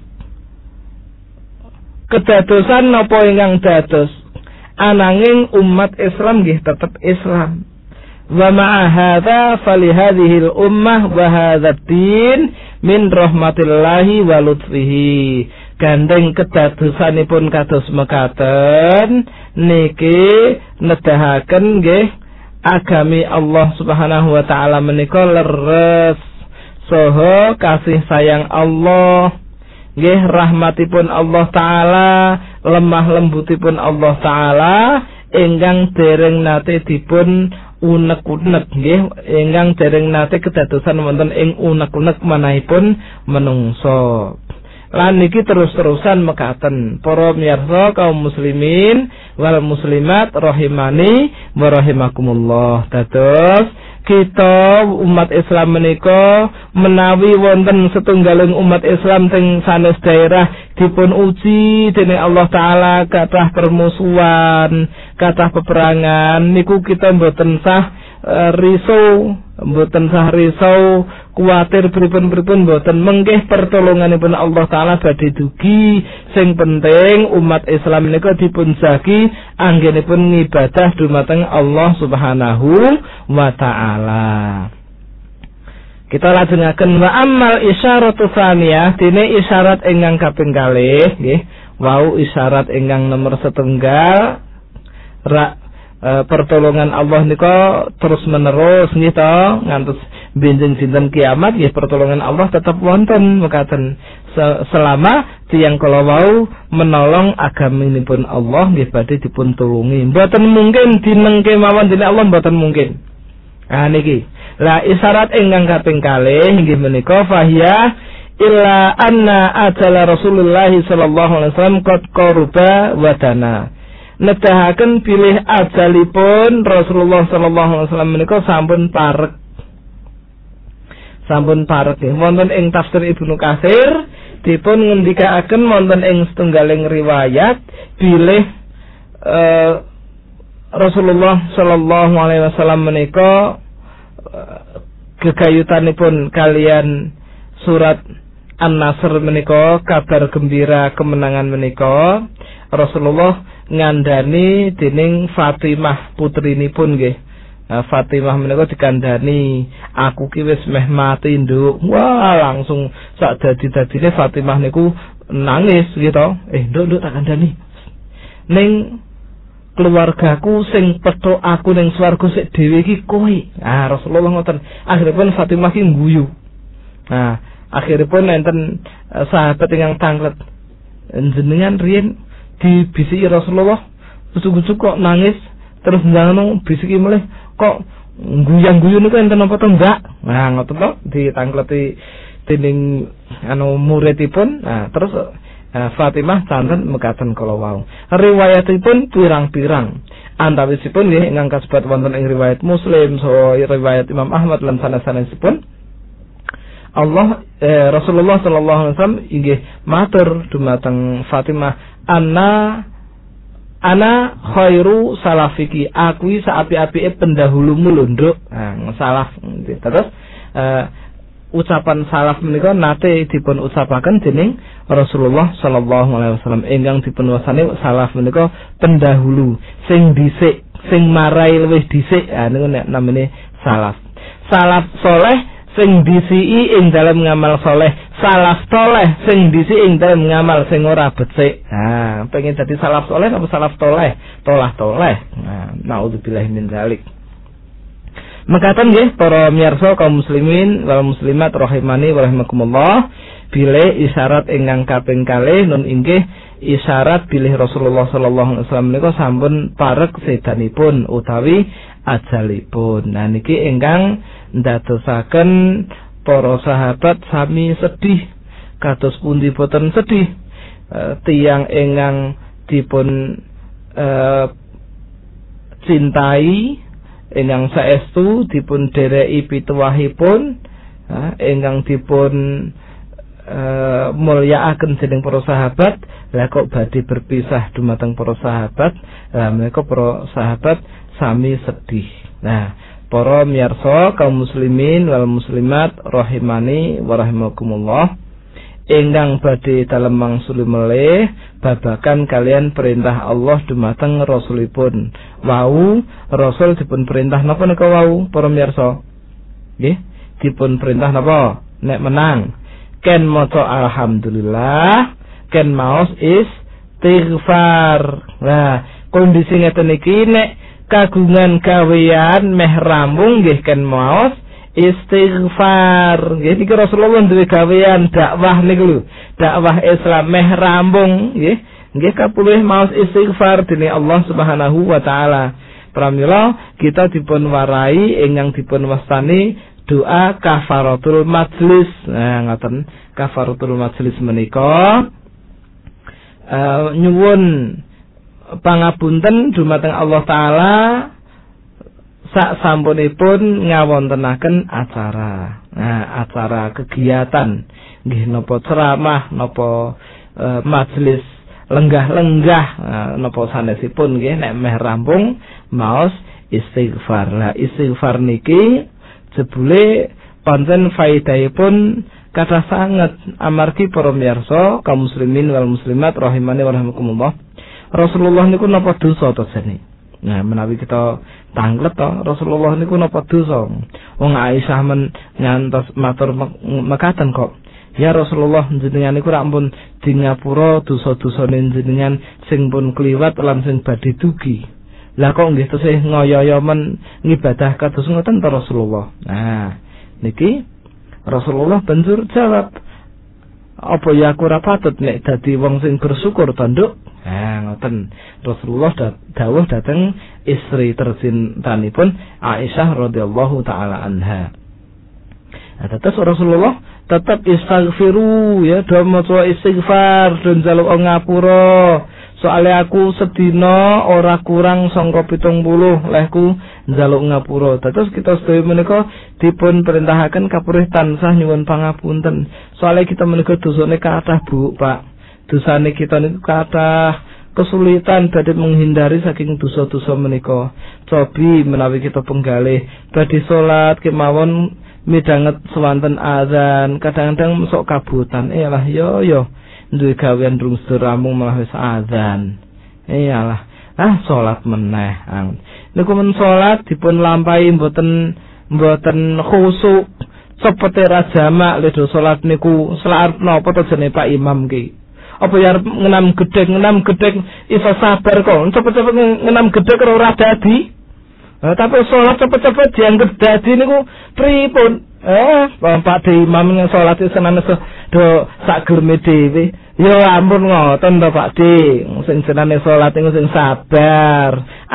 Kedadosan napa ingkang dados ananging umat Islam nggih tetep Islam. Wa ma'a hadza fali hadhihi al-ummah wa hadzal din min rahmatillahi wa lutfihi. Gandeng kedadosanipun kados mekaten niki nedahaken nggih agami Allah Subhanahu wa taala menika leres saha kasih sayang Allah nggih rahmatipun Allah taala lemah lembutipun Allah taala ingkang dereng nate dipun unek-unek nggih ingkang dereng nate kedadosan wonten ing unek-unek manahipun menungso. Lan niki terus-terusan mekaten para miyarsa kaum muslimin wal muslimat rahimani wa rahimakumullah. Dados kita umat Islam menika menawi wonten setunggaling umat Islam teng sanes daerah dipun uji dening Allah taala kathah permusuhan, kathah peperangan niku kita mboten sah uh, risau, mboten sah risau, kuwatir pripun-pripun mboten menggih pertolonganipun Allah taala badhe dugi. Sing penting umat Islam menika dipun jagi anggenipun ngibadah dumateng Allah Subhanahu wa taala. Kita lajengaken wa ammal isyaratu tsaniyah dene isyarat ingkang kaping kalih nggih wau isyarat ingkang nomor setunggal ra e, pertolongan Allah nika terus menerus nggih to ngantos benjing dinten kiamat nggih pertolongan Allah tetap wonten mekaten selama tiyang kala wau menolong agaminipun Allah nggih badhe dipun tulungi. Mboten mungkin dinengke mawon dening Allah mboten mungkin. Ah niki la isyarat ingkang kaping kalih inggih menika fahiyah illa anna ajala Rasulullah sallallahu alaihi wasallam qad qaruba wa dana. Nedahaken pilih ajalipun Rasulullah sallallahu alaihi wasallam menika sampun parek. Sampun parek nggih wonten ing tafsir Ibnu Katsir dipun ngendikaaken wonten ing setunggaling riwayat bilih uh, Rasulullah sallallahu alaihi wasallam menika gegayutanipun kalian surat An-Nasr menika kabar gembira kemenangan menika Rasulullah ngandani dening Fatimah putrinipun nggih. Fatimah menika dikandani aku ki wis meh mati nduk. Wah langsung sak dadi-dadine Fatimah niku nangis gitu. Eh nduk nduk tak kandani. ning keluargaku sing pedho aku ning swarga sik dhewe iki kowe. Ah Rasulullah ngoten. Akhiripun Fatimah ki ngguyu. Nah, akhiripun enten uh, sahabat ingkang tanglet. Jenengan riyen dibisiki Rasulullah, usuk-usuk kok nangis, terus njangan bisiki melih kok guyang-guyu niku enten apa to enggak? Nah, ngoten to ditangleti dening anu muridipun. Nah, terus uh, Fatimah santen mekaten kala wau. Riwayatipun pirang-pirang. Antawisipun nggih ingkang kasebat wonten ing riwayat Muslim saha riwayat Imam Ahmad lan sanes-sanesipun Allah eh, Rasulullah sallallahu alaihi wasallam inggih matur dumateng Fatimah, "Anna ana khairu salafiki." Aku saapi-apike pendahulumu lho, Nduk. Nah, salaf. Terus eh, ucapan salaf menika nate dipun ucapaken dening Rasulullah sallallahu alaihi wasallam ingkang dipun wasani salaf menika pendahulu sing dhisik, sing marai luwih dhisik. Ah niku nek namine salaf. Salaf soleh sing disiki ing dalam ngamal soleh, salaf toleh sing disiki ing dalam ngamal sing ora becik. Nah, pengen dadi salaf soleh apa salaf toleh? Tolah toleh. Nah, naudzubillahi min dzalik. Mekaten nggih para miyarsa kaum muslimin wal muslimat rahimani wa rahimakumullah, bilih isyarat ingkang kaping kalih nun inggih isyarat bilih Rasulullah sallallahu alaihi wasallam menika sampun parek sedanipun utawi ajalipun. Nah niki ingkang ndadosaken para sahabat sami sedih. Kados pundi boten sedih e, tiyang ingkang dipun e, cintai, ingkang saestu dipun dereki pituwahipun, ingkang dipun e, mulyakaken dening para sahabat, lah kok badhe berpisah dumateng para sahabat, lah menika para sahabat sami sedih. Nah, para miyarsa kaum muslimin wal muslimat rahimani wa rahimakumullah, ingkang badhe dalem mangsuli melih babakan kalian perintah Allah dumateng rasulipun. Wau rasul dipun perintah napa nika wau para miyarsa? Nggih, dipun perintah napa? Nek menang ken maca alhamdulillah, ken maos istighfar. Nah, kondisi ngeten iki nek kagungan gawean meh rampung nggih ken maos istighfar. Nggih niki Rasulullah duwe gawean dakwah niku lho, dakwah Islam meh rampung nggih. Nggih kapulih maos istighfar dening Allah Subhanahu wa taala. Pramila kita dipun warai ingkang dipun wastani doa kafaratul majlis. Nah ngoten, kafaratul majlis menika uh, nyuwun pangapunten dumateng Allah taala sak sampunipun ngawontenaken acara. Nah, acara kegiatan nggih napa ceramah, napa e, majelis lenggah-lenggah, nah, napa sanesipun nggih nek meh rampung maos istighfar. Lah istighfar niki jebule pancen faedahipun kathah sanget amargi para miyarsa kaum muslimin wal muslimat rahimani wa rahimakumullah. Rasulullah niku napa dosa to jane? Nah, menawi kita tanglet to, Rasulullah niku napa dosa? Wong Aisyah men ngantos matur mekaten kok. Ya Rasulullah, jenengan niku rak ampun di ngapura dosa-dosane jenengan sing pun kliwat lan sing badhe dugi. Lah kok nggih tesih ngoyo-yo men ngibadah kados ngoten to Rasulullah. Nah, niki Rasulullah banjur jawab, apa ya aku ora patut nek dadi wong sing bersyukur to, Nduk? Nah, ngoten. Rasulullah dawuh dhateng istri tercintanipun Aisyah radhiyallahu taala anha. Nah, terus Rasulullah tetap istighfiru ya, do maca istighfar, do njaluk ngapura. Soale aku sedina ora kurang sangka pitung puluh lehku njaluk ngapura. Terus kita sedaya menika dipun perintahaken kapurih tansah nyuwun pangapunten. Soale kita menika dosane kathah, Bu, Pak. Dosane kita niku kathah, kesulitan badhe menghindari saking dosa-dosa menika. Cobi menawi kita penggalih badhe salat kemawon midhanget sewanten azan, kadang-kadang sok kabutan. Iyalah yo yo duwe gawean durung sedher rampung malah wis azan. Iyalah, ah salat meneh. Niku men salat dipun lampahi mboten mboten khusuk, cepete ra jamak lho salat niku selarat napa to jenenge Pak Imam ki. Apa ya ngenam gedhek, ngenam gedhek iso sabar kok. Cepet-cepet ngenam gedhek ora dadi. Nah, tapi sholat cepet-cepet dianggap dadi niku pripun? Eh, Pak De Imam sholat senane do sak germe dhewe. Ya ampun ngoten to Pak De. Sing senane sholat niku sing sabar,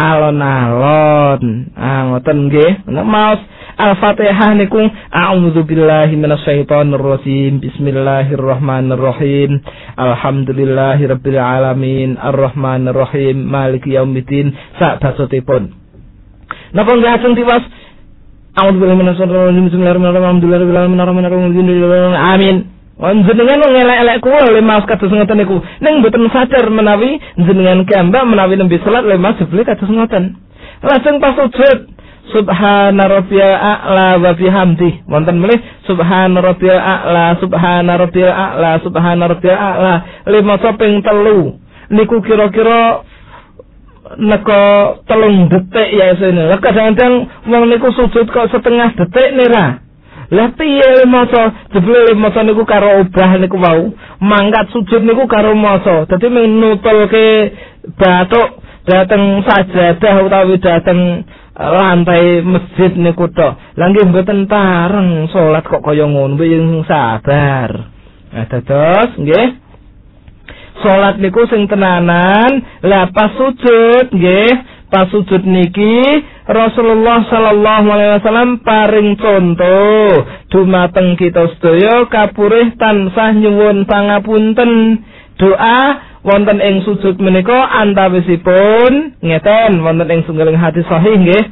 alon-alon. Ah ngoten nggih. Nek maos Al-Fatihah niku a'udzubillahi minasyaitonir rajim. Bismillahirrahmanirrahim. Alhamdulillahirabbil alamin. Arrahmanir rahim. Maliki yaumiddin. Sak basotipun. Napa nggih ajeng tiwas a'udzubillahi minasyaitonir rajim. Bismillahirrahmanirrahim. Arrahmanirrahim. Amin. Jenengan ngelek-elek kula le maos kados ngoten niku. Ning mboten sadar menawi jenengan gambak menawi nembe salat le maos jebule kados ngoten. Lajeng pas sujud Subhana rabbiyal a'la wa bihamdi. Wonten melih Subhana rabbiyal a'la, Subhana rabbiyal a'la, Subhana rabbiyal a'la. Lima ping telu. Niku kira-kira neko telung detik ya sene. Kadang-kadang wong niku sujud kok setengah detik nira. Lah piye maca jebule maca niku karo obah niku wau. Mangkat sujud niku karo maca. Dadi menutulke bathuk dateng sajadah utawi dateng lantai masjid niku tok. Lah nggih mboten pareng salat kok kaya ngono, sing sabar. Nah dados nggih salat niku sing tenanan. Lah pas sujud nggih, pas sujud niki Rasulullah sallallahu alaihi wasallam paring contoh dumateng kita sedaya kapurih tansah nyuwun pangapunten. Doa wonten ing sujud menika antawisipun ngeten wonten ing sunggaling hadis sahih nggih.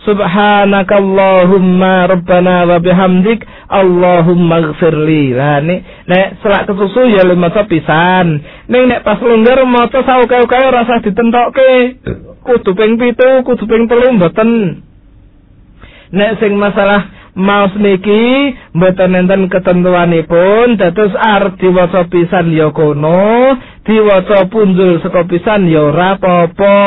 Subhanakallahumma rabbana wa bihamdik Allahumma ighfirli. Lah nek nek selak kesusu ya maca pisan. Ning nek pas longgar maca sauke-uke ora usah ditentokke. Kudu ping pitu, kudu ping telu mboten. Nek sing masalah maos niki mboten enten ketentuanipun, dados arep diwaca pisan ya kono, diwaca punjul saka pisan ya ora apa-apa.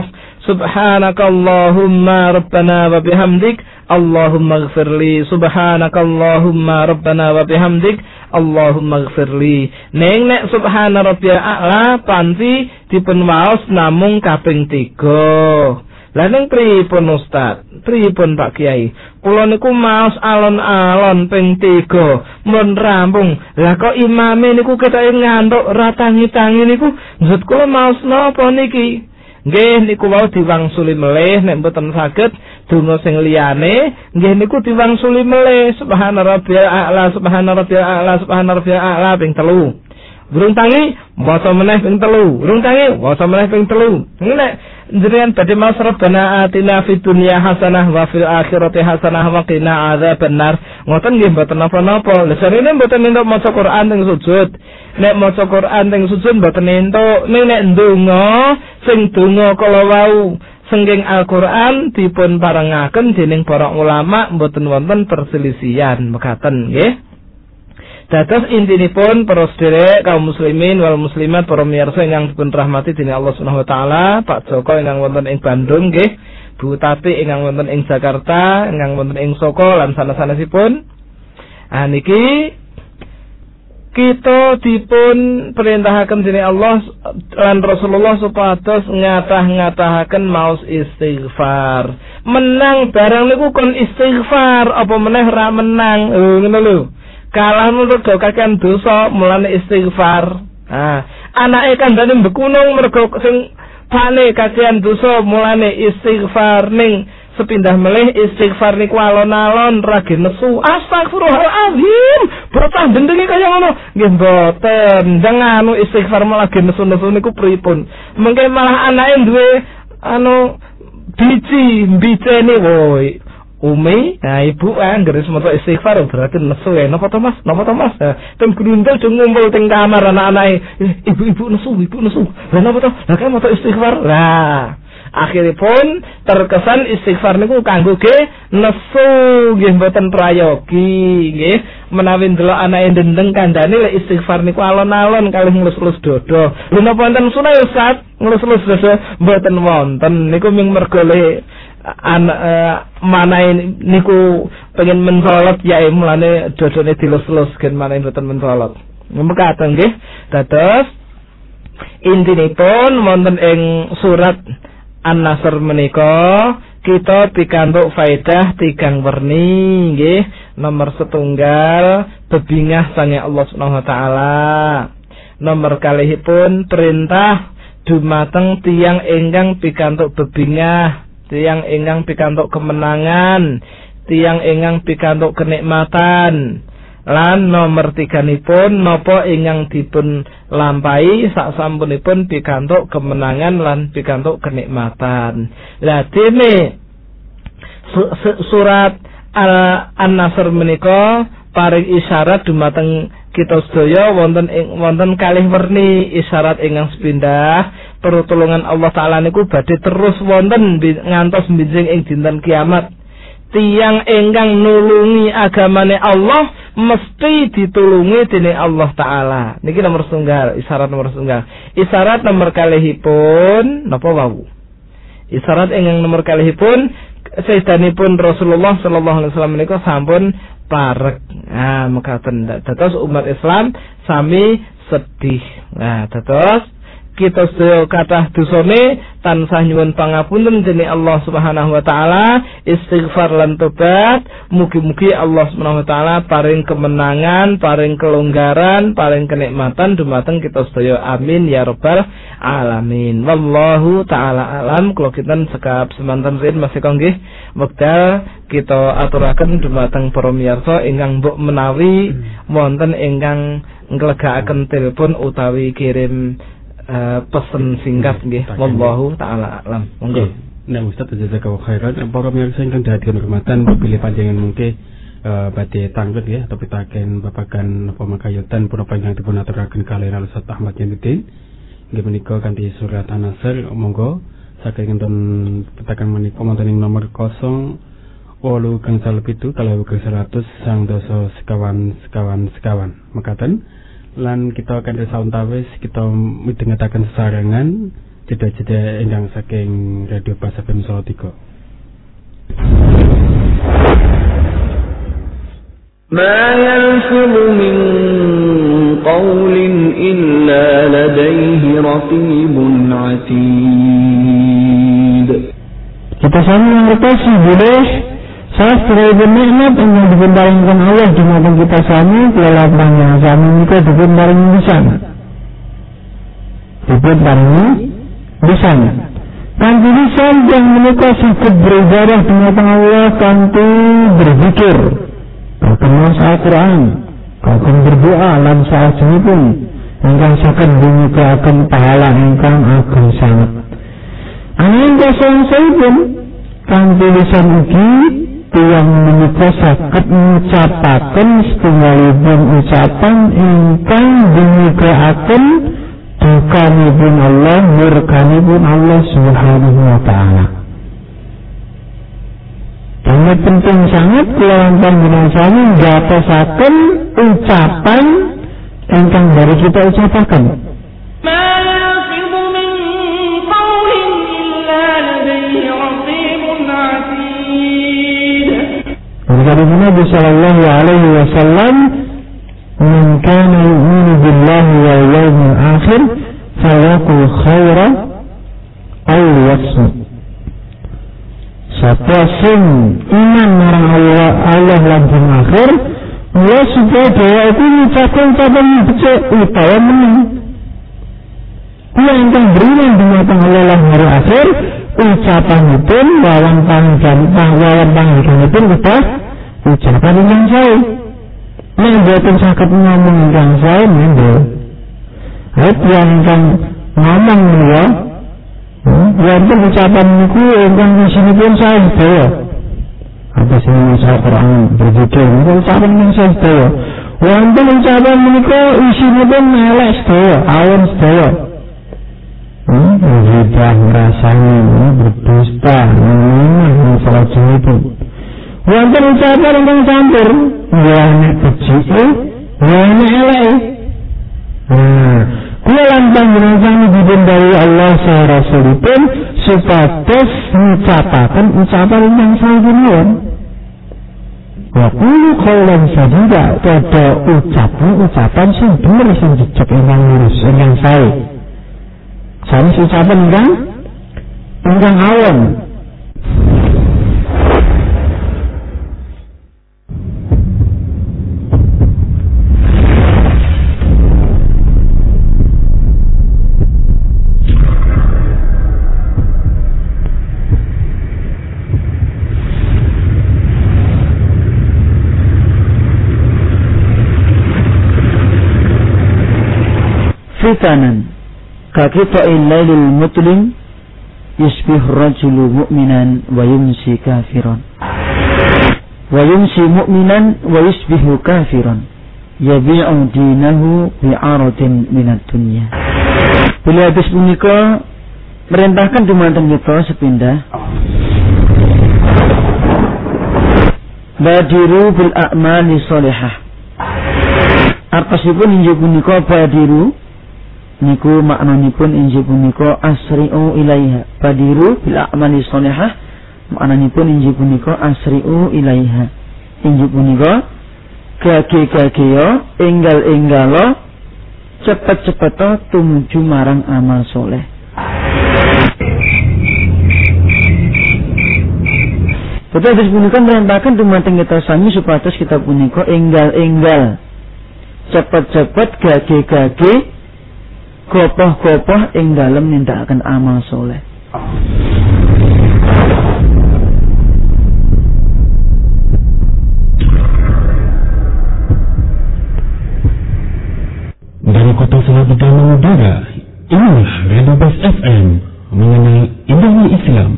Subhanakallahumma rabbana wa bihamdik Allahumma ighfirli. Subhanakallahumma rabbana wa bihamdik Allahumma ighfirli. Neng nek subhana rabbiyal a'la panci dipun waos namung kaping tiga. Lah ning pripun Ustaz? Pripun Pak Kiai? Kula niku maos alon-alon ping tiga mun rampung. Lah kok imame niku ketoke ngantuk ra tangi-tangi niku maksud kula maos napa niki? Nggih niku wau diwangsuli melih nek mboten saged donga sing liyane nggih niku diwangsuli melih subhana rabbiyal a'la subhana rabbiyal a'la subhana rabbiyal a'la ping telu. Durung tangi maca meneh ping telu. Durung tangi maca meneh ping telu. Nek jenengan badhe maos rabbana atina fid dunya hasanah wa fil akhirati hasanah wa qina adzabannar. Ngoten nggih mboten napa-napa. Lha sarene mboten entuk maca Quran teng sujud. Nek maca Quran teng sujud mboten entuk. Ning nek ndonga sing donga kala wau sengking Al-Qur'an dipun parengaken dening para ulama mboten wonten perselisihan mekaten nggih. Dados intinipun para sedherek kaum muslimin wal muslimat para miyarsa ingkang dipun rahmati dening Allah Subhanahu wa taala, Pak Joko ingkang wonten ing Bandung nggih, Bu Tati ingkang wonten ing Jakarta, ingkang wonten ing Soko lan sanes-sanesipun. Ah niki kita dipun perintahaken dening Allah lan Rasulullah supados ngatah-ngatahaken maos istighfar. Menang barang niku kon istighfar, apa meneh ra menang. Oh ngono lho. Kalah nurut do kakean dosa mulane istighfar. Ah, anake kandhane bekunung mergo sing pane kakean dosa mulane istighfar ning sepindah melih istighfar niku alon-alon rage nesu. Astagfirullahalazim. Bocah bendengi kaya ngono. Nggih mboten. Jangan anu istighfar malah ge nesu-nesu niku pripun? Mengke malah anake duwe anu biji mbicene woi. Umi, nah ibu angger semono istighfar berarti nesu ya. Napa to Mas? Napa to Mas? Tem grundel do ngumpul teng kamar anak-anake. Ibu-ibu nesu, ibu nesu. Lah napa to? Lah kan moto istighfar. Lah, akhiripun terkesan istighfar niku kanggo ge nesu nggih mboten prayogi nggih. Menawi ndelok anake ndendeng kandhane lek istighfar niku alon-alon kalih nglus-lus dodo. Lha napa wonten sunah Ustaz? Nglus-lus dodo mboten wonten. Niku mung mergo le an uh, mana niku pengen mensolot ya mulane dodone dilus-lus gen mana mboten mensolot. Mekaten nggih. Dados Intinipun wonten ing surat An-Nasr menika kita pikantuk faedah tigang werni nggih. Nomor setunggal bebingah sange Allah Subhanahu wa taala. Nomor kalihipun perintah dumateng tiyang ingkang pikantuk bebingah, tiyang ingkang pikantuk kemenangan, tiyang ingkang pikantuk kenikmatan. Lan nomor tiganipun napa ingkang dipun lampahi saksampunipun pikantuk kemenangan lan pikantuk kenikmatan. Lah dene su- su- surat An-Nasr menika paring isyarat dumateng kita sedaya wonten ing wonten kalih werni isyarat ingkang sepindah pertolongan Allah taala niku badhe terus wonten ngantos benjing ing dinten kiamat. Tiyang ingkang nulungi agamane Allah mesti ditulungi dening Allah taala. Niki nomor setunggal, isyarat nomor setunggal. Isyarat nomor kalihipun napa wau? Isyarat ingkang nomor kalihipun sedanipun Rasulullah sallallahu alaihi wasallam menika sampun parek. Nah, mekaten dados umat Islam sami sedih. Nah, dados kita sedaya kathah dosane tansah nyuwun pangapunten dening Allah Subhanahu wa taala, istighfar lan tobat. Mugi-mugi Allah Subhanahu wa taala paring kemenangan, paring kelonggaran, paring kenikmatan dumateng kita sedaya. Amin ya rabbal alamin. Wallahu taala alam. Kula kinten sekap semanten rin masih nggih wekdal kita aturaken dumateng para miyarsa ingkang mbok menawi wonten ingkang nglegakaken telepon utawi kirim Uh, pesen singkat nggih. Wallahu taala alam. Monggo. Nah, Ustaz jazakallahu khairan. Para pemirsa ingkang dadi hormatan pilih panjenengan mungkin uh, badhe tanglet ya tapi taken babagan apa makayutan punapa ingkang dipun aturaken kaliyan Ustaz Ahmad Yaniddin nggih menika kanthi surat An-Nasr. Monggo saking enten petakan menika wonten ing nomor nol wolu gangsal pitu kalawu seratus sang dasa sekawan sekawan sekawan mekaten. Lan kita akan sautawis kita midhangetaken sesarengan jeda-jeda ingkang saking Radio Bas F M Solo tiga. Ma yalfizu min qawlin illa ladayhi raqibun atid. Kita sami mengerti boleh sastra ibn nikmat yang dibendaringkan Allah di mata kita sami kelelapan yang sami itu dibendaring di sana dibendaring di sana kanti lisan yang menikah sakit beribadah di mata Allah kanti berzikir berkemas Al-Quran akan berdoa lan saat ini pun engkang sakit menikah akan pahala engkang akan sangat angin kosong saya pun kanti lisan ugi yang menikah sakit mengucapakan setunggalipun ucapan ingkang dimugaaken dukanipun Allah murkanipun Allah Subhanahu wa taala. Ini penting sangat kelawan panjenengan ngatosaken ucapan ingkang dari kita ucapaken. Dari Nabi sallallahu alaihi wasallam, "Man kana yu'minu billahi wal yawmil akhir, falyaqul khairan aw liyasmut." Sapa sing iman marang Allah Allah lan dina akhir, ya supaya dia itu ngucapkan ucapan becik utawa meneng. Dia ingkang beriman dumateng Allah lan hari akhir, ucapanipun lawan panggilan lawan panggilanipun kedah ucapan yang saya nek boten saged ngomong ingkang saya mendel ayat yang ingkang ngomong ya wonten ucapan niku ingkang isinipun saya sedaya apa sing maca Quran berzikir niku ucapan yang saya sedaya wonten ucapan menika isinipun elek sedaya awon sedaya berhibah ngrasani berdusta memang salah jenipun wonten ucapan ingkang campur ya nek becike ya nek elek. Nah, kula lan panjenengan dibendari Allah saha Rasulipun supados ngucapaken ucapan ingkang sae. Wa qulu qawlan sadida, padha ucapan ucapan sing bener sing jejeg ingkang lurus ingkang sae. Sanis ucapan ingkang ingkang awam. Fitanan kakita'il lailil mutlim yusbih rajulu mu'minan wa yumsi kafiran wa yumsi mu'minan wa yusbihu kafiran yabi'u dinahu bi'aradin minad dunya. Beliau hadis punika merintahkan dumateng kita sepindah badiru bil a'mali sholihah. Artosipun inggih punika badiru niku maknanipun inggih punika asri'u ilaiha. Badiru bil a'mali sholihah maknanipun inggih punika asri'u ilaiha. Inggih punika gage-gageya enggal-enggala cepet-cepet tumuju marang amal soleh. Betul hadis punika merintahkan dumateng kita sami supados kita punika enggal-enggal cepet-cepet gage-gage gopoh-gopoh ing dalem nindakaken amal soleh. Dari kota Selatan mengudara, inilah Radio Bas F M mengenai indahnya Islam.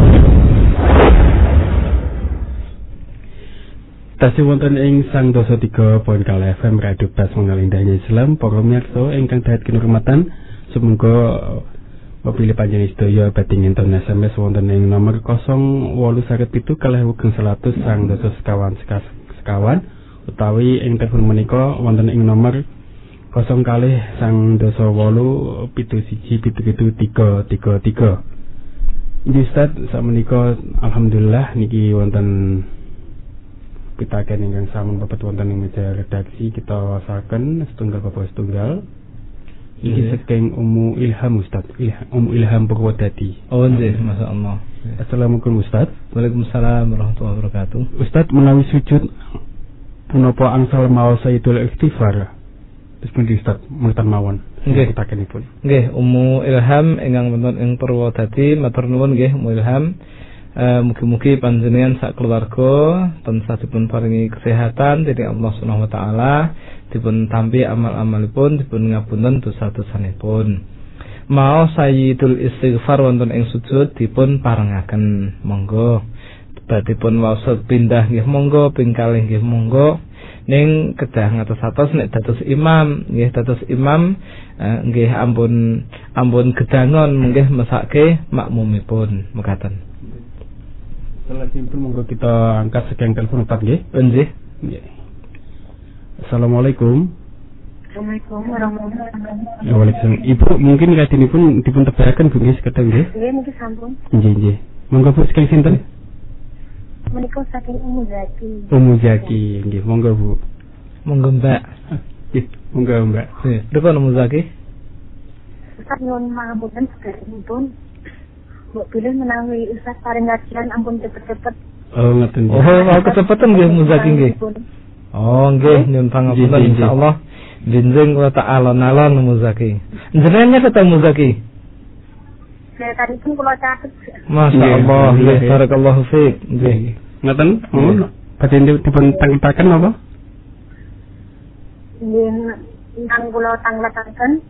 Tasih wonten ing sang dosa tiga poin kali F M Radio Bas mengenai indahnya Islam. Para miyarsa ingkang dahat kinurmatan, sumangga mapilih panjenengan sedaya badhe nginten S M S wonten ing nomor nol wolu seket pitu kalih wugeng seratus sang dosa sekawan sekawan utawi ing telepon menika wonten ing nomor nol kalih sang dosa wolu pitu siji pitu pitu tiga tiga tiga. Inggih Ustaz, sakmenika alhamdulillah niki wonten pitaken ingkang sampun babat wonten ing meja redaksi kita wasaken setunggal bapak setunggal. Iki saking Ummu Ilham Ustaz, Ilham Ummu Ilham Purwodadi. Oh nggih, masyaallah. Assalamualaikum Ustaz. Waalaikumsalam warahmatullahi wabarakatuh. Ustaz, menawi sujud punapa angsal maos Sayyidul Istighfar. Terus pundi Ustaz, mengatan mawon. Nggih, pitakenipun. Nggih, Ummu Ilham ingkang wonten ing Purwodadi, matur nuwun nggih Ummu Ilham. Uh, mugi-mugi panjenengan sak keluarga tansah dipun paringi kesehatan dening Allah Subhanahu wa taala, dipun tampi amal-amalipun, dipun ngapunten dosa-dosanipun. Mau Sayyidul Istighfar wonten ing sujud dipun parengaken. Monggo badhepun waos pindah nggih monggo, ping kalih nggih monggo. Ning kedah ngatos-atos nek dados imam, nggih dados imam uh, nggih ampun ampun gedangon nggih mesake makmumipun mekaten. Salajengipun monggo kita angkat sekian telepon Ustaz nggih. Nggih. Nggih. Assalamualaikum. Assalamualaikum warahmatullahi wabarakatuh. Waalaikumsalam. Ibu mungkin kadinipun dipun tebaraken Bu nggih sekedhik nggih. Nggih niki sampun. Nggih nggih. Monggo Bu saking sinten? Menika saking Ummu Zaki. Ummu Zaki nggih, monggo Bu. Monggo Mbak. Nggih, monggo Mbak. Nggih, pripun Ummu Zaki? Ustaz nyuwun mangapunten sedherekipun. Mbok pilih menawi Ustaz paring kajian ampun cepet-cepet. Oh, ngoten nggih. Oh, mau kecepatan nggih Ummu Zaki nggih. Oh, nggih, nyuwun pangapunten insyaallah. Benjing kula tak alon-alon Ummu Zaki. Jenengannya ketemu Ummu Zaki? Saya tadi pun kula catet. Masyaallah, nggih, barakallahu fiik. Nggih. Ngoten? Oh, badhe dipun tangketaken apa? Nggih, ingkang kula tangletaken.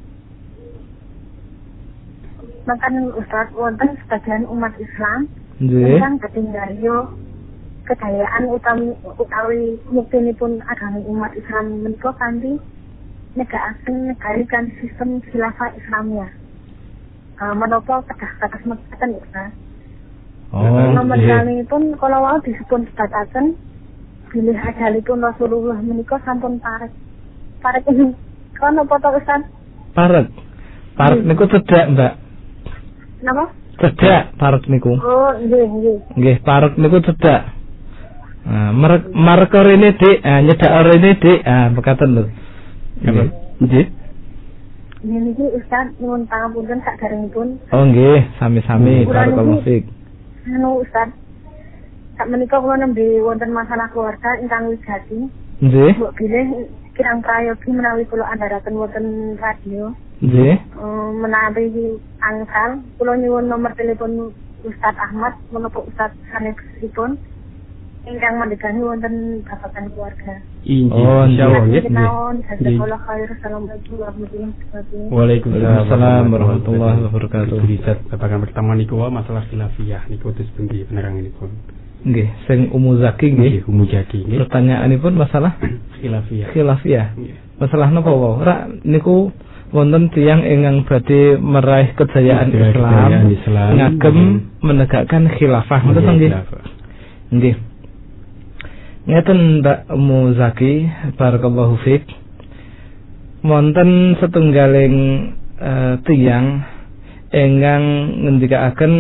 Makan Ustaz wonten sebagian umat Islam ingkang badhe nggayuh kedayaan utami utawi muktinipun agami umat Islam menika kanthi negakaken negari kan sistem khilafah Islamiyah. Uh, menapa kedah kados mekaten Ustaz. Oh, nomor kalipun kala wau disebut sebataken bilih ajalipun Rasulullah menika sampun parek. Parek ini kono foto Ustaz? Parek. Parek niku cedhak, Mbak. Napa? Cedhak parek niku. Oh, nggih, nggih. Nggih, parek niku cedhak. Nah, merek marek rene Dik, ah nyedak rene Dik. Ah, mekaten lho. Nggih. Nggih. Ini Ustaz nyuwun pangapunten saderengipun. Oh nggih, sami-sami barakallahu fiik. Anu Ustaz, sak menika kula nembe wonten masalah keluarga ingkang wigati. Nggih. Mbok bilih kirang prayogi menawi kula andharaken wonten radio. Nggih. Um, menawi angsal kula nyuwun nomor telepon Ustaz Ahmad menapa Ustaz sanesipun ingkang mandhegani wonten babagan keluarga. Oh, insyaallah nggih. Jazakallahu khair. Assalamualaikum warahmatullahi wabarakatuh. Waalaikumsalam warahmatullahi wabarakatuh. Bisa babagan pertama niku masalah khilafiyah niku terus pundi peneranganipun. Nggih, sing Umu Zaki nggih. Umu Zaki nggih. Pertanyaanipun masalah khilafiyah. Khilafiyah. Masalah napa wae? Ora niku wonten tiyang ingkang badhe meraih kejayaan Islam, Islam ngagem menegakkan khilafah. Ngoten nggih. Nggih. Ngeten Mbak Muzaki, barakallahu fiik. Wonten setunggaling uh, tiyang ingkang ngendikaaken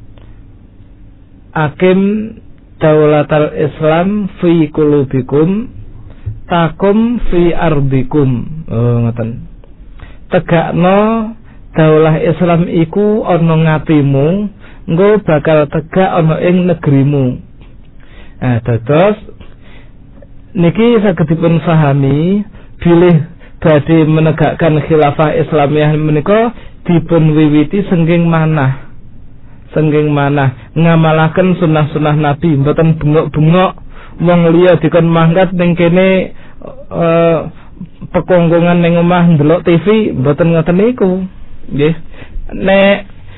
akim daulatal Islam fi qulubikum takum fi ardikum. Oh ngoten. Tegakno daulah Islam iku ana ngatimu, engko bakal tegak ana ing negerimu. Nah, dados niki saged dipun pahami bilih badhe menegakkan khilafah Islamiyah menika dipun wiwiti sengging manah. Sengging manah ngamalaken sunah-sunah Nabi, mboten bengok-bengok wong liya dikon mangkat ning kene uh, pekongkongan ning omah ndelok T V, mboten ngoten niku. Nggih. Nek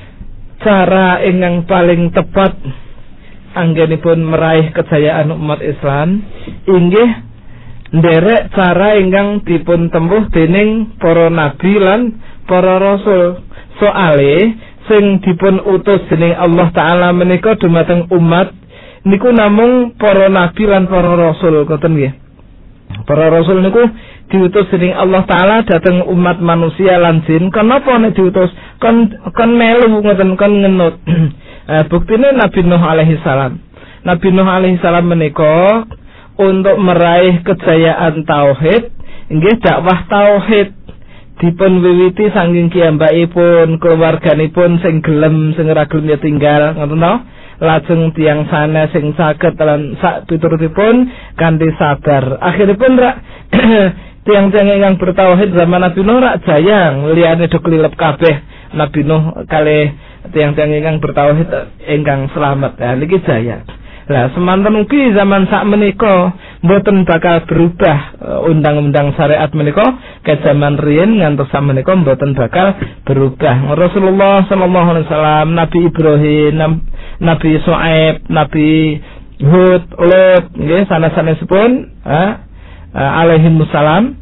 cara ingkang paling tepat anggenipun meraih kejayaan umat Islam inggih nderek cara ingkang dipun tempuh dening para nabi lan para rasul. Soale sing dipun utus dening Allah taala menika dumateng umat niku namung para nabi lan para rasul, ngoten nggih. Para rasul niku diutus dening Allah taala dhateng umat manusia lan jin. Kenapa nek diutus kon kon melu ngoten kon ngenut. Eh, buktine Nabi Nuh alaihi salam. Nabi Nuh alaihi salam menika untuk meraih kejayaan tauhid, inggih dakwah tauhid dipun wiwiti saking kiyambakipun, keluarganipun sing gelem sing ora gelem ya tinggal, ngoten to. Lajeng tiyang sanes sing saged lan sak piturutipun kanthi sabar. Akhiripun rak tiang-tiang ingkang bertauhid zaman Nabi Nuh rak jayang, liyane do klilep kabeh. Nabi Nuh kalih tiang-tiang ingkang bertauhid ingkang selamat. Ya niki jaya. Lah semanten ugi zaman sak menika mboten bakal berubah undang-undang syariat menika ke zaman riyin ngantos sak menika mboten bakal berubah. Rasulullah sallallahu alaihi wasallam, Nabi Ibrahim, Nabi Shu'aib, Nabi Hud, Lut nggih sanes-sanesipun alaihi wassalam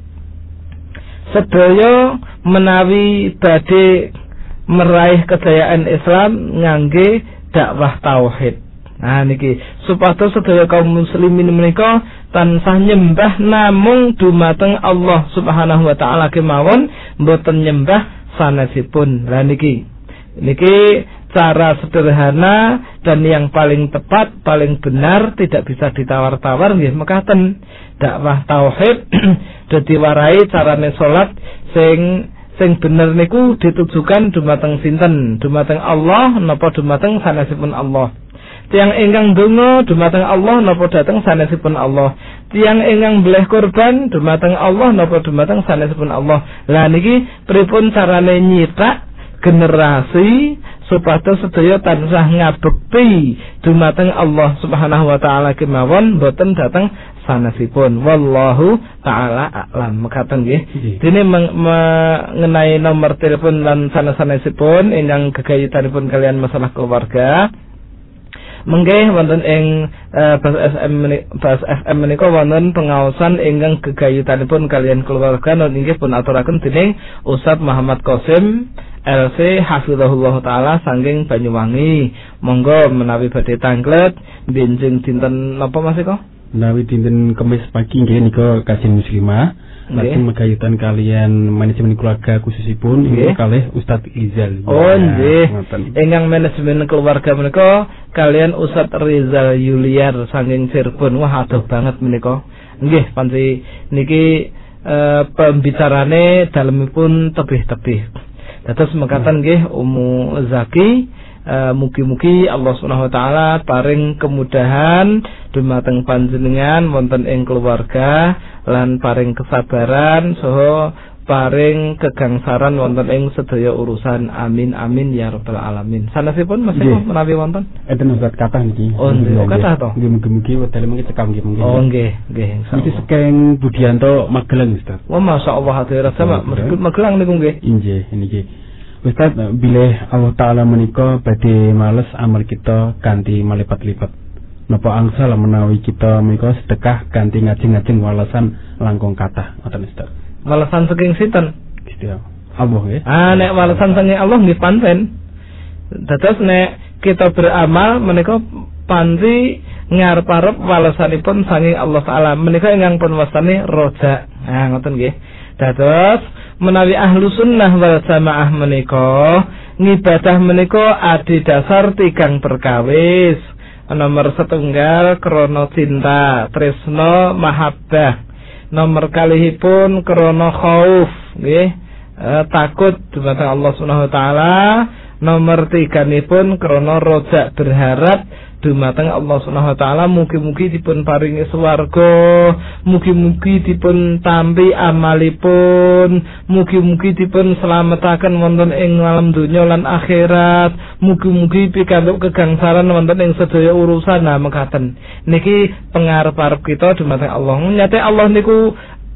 sedaya menawi badhe meraih kejayaan Islam ngangge dakwah tauhid. Nah niki supados sedaya kaum muslimin menika tansah nyembah namung dumateng Allah Subhanahu wa taala kemawon, mboten nyembah sanesipun. Lah niki niki cara sederhana dan yang paling tepat, paling benar, tidak bisa ditawar-tawar nggih mekaten dakwah tauhid dadi warai carane salat sing sing bener niku ditujukan dumateng sinten? Dumateng Allah napa dumateng sanesipun Allah? Tiang ingkang donga dumateng Allah napa dhateng sanesipun Allah? Tiang ingkang bleh korban dumateng Allah napa dumateng sanesipun Allah? Lah niki pripun carane nyitak generasi supados sedaya tansah ngabekti dumateng Allah Subhanahu wa taala kemawon boten dhateng sanesipun. Wallahu taala a'lam. Mekaten nggih. Dene mengenai nomor telepon lan sanes-sanesipun ingkang gegayutanipun kalian masalah keluarga. Menggih wonten ing uh, Bas F M Bas F M menika wonten pengaosan ingkang gegayutanipun kalian keluarga inggih pun aturaken dening Ustaz Muhammad Qasim L C hafizahullah taala saking Banyuwangi. Monggo menawi badhe tanglet benjing dinten napa Mas Eko? Menawi dinten Kamis pagi nggih nika kajian muslimah. Lajeng megayutan kalian manajemen keluarga khususipun inggih kalih Ustaz Rizal. Oh nggih. Ingkang manajemen keluarga menika kalian Ustaz Rizal Yuliar saking Cirebon. Wah adoh banget menika. Nggih panci niki e, pembicarane dalemipun tebih-tebih. Dados mekaten nggih Ummu Zaki, e, mugi-mugi Allah Subhanahu wa taala paring kemudahan dumateng panjenengan wonten ing keluarga lan paring kesabaran saha paring kegangsaran wonten ing sedaya urusan. Amin amin ya rabbal alamin. Sanasipun Mas Eko menawi wonten enten Ustaz kathah niki. Oh nggih, kathah to. Nggih mugi-mugi wedal mengki cekam nggih mungkin. Oh nggih, nggih. Iki saking Budianto Magelang Ustaz. Wah masyaallah hadirat sama meskipun Magelang niku nggih. Inggih niki. Ustaz bilih Allah taala menika badhe males amal kita kanthi malipat-lipat. Napa angsal menawi kita menika sedekah kanthi ngajeng-ngajeng walasan langkung kathah ngoten Ustaz. Walasan saking sinten? Gusti Allah nggih. Ah nek walasan saking Allah nggih pancen. Dados nek kita beramal menika panci ngarep-arep walasanipun saking Allah taala. Menika ingkang pun wastani roja. Ah ngoten nggih. Dados menawi ahlu sunnah wal jamaah menika ngibadah menika adi dasar tigang perkawis. Nomor setunggal krana cinta, tresna, mahabbah. Nomor kalihipun krana khauf nggih, e, takut dumateng Allah Subhanahu wa taala. Nomor tiganipun krana roja, berharap dumateng Allah Subhanahu wa taala mugi-mugi dipun paringi swarga, mugi-mugi dipun tampi amalipun, mugi-mugi dipun slametaken wonten ing alam donya lan akhirat, mugi-mugi pikantuk kegangsaran wonten ing sedaya urusan. Nah mekaten niki pangarep-arep kita dumateng Allah. Nyate Allah niku